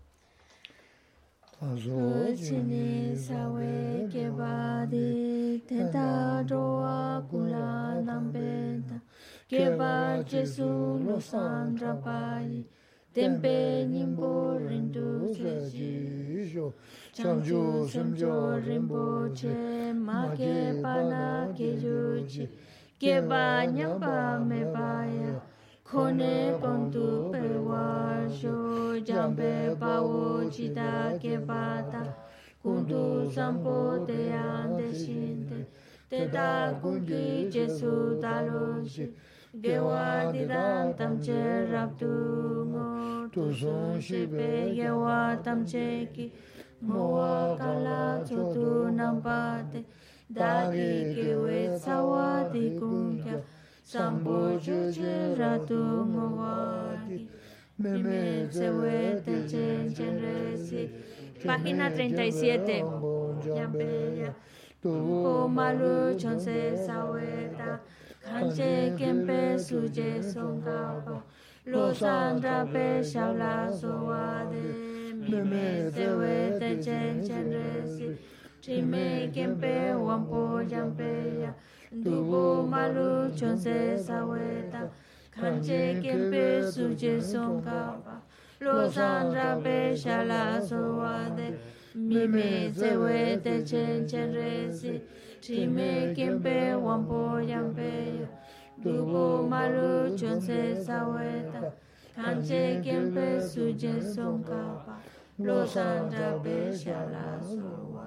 Chini sawe keba di tenta roa kula nambenta keba Jesu lo sandra pai tempe nimbo rindu seji changju semjo rinpoche ma keba na kejuchi keba nyamba me baya Kone kontu pewa sho jambe pawo chita kebata kuntu sampo te ande shinte te da kunki Jesu taloshi gewa didan tamche rabdu ngo tu son shibe gewa tamche ki Moa kala chotu nampate, dagi kiwe sawadi kunkya, sambo chuche ratu mawadi, mime sewe te chen chen resi. Página 37. Yampeya. Tuho malu chonse saweta, kanche kempe suje songkapa, losandra pe shabla soade, mime sewe te chen chen resi, trime kempe wampo yampeya, tuho malu chonse saweta, kanche kempe suje songkapa, losandra pe shabla soade, mime sewe te chen chen resi, trime kempe wampo yampeya, dubo malu chonse saweta, kanche kempe suje songkapa, losandra pe shala sowa.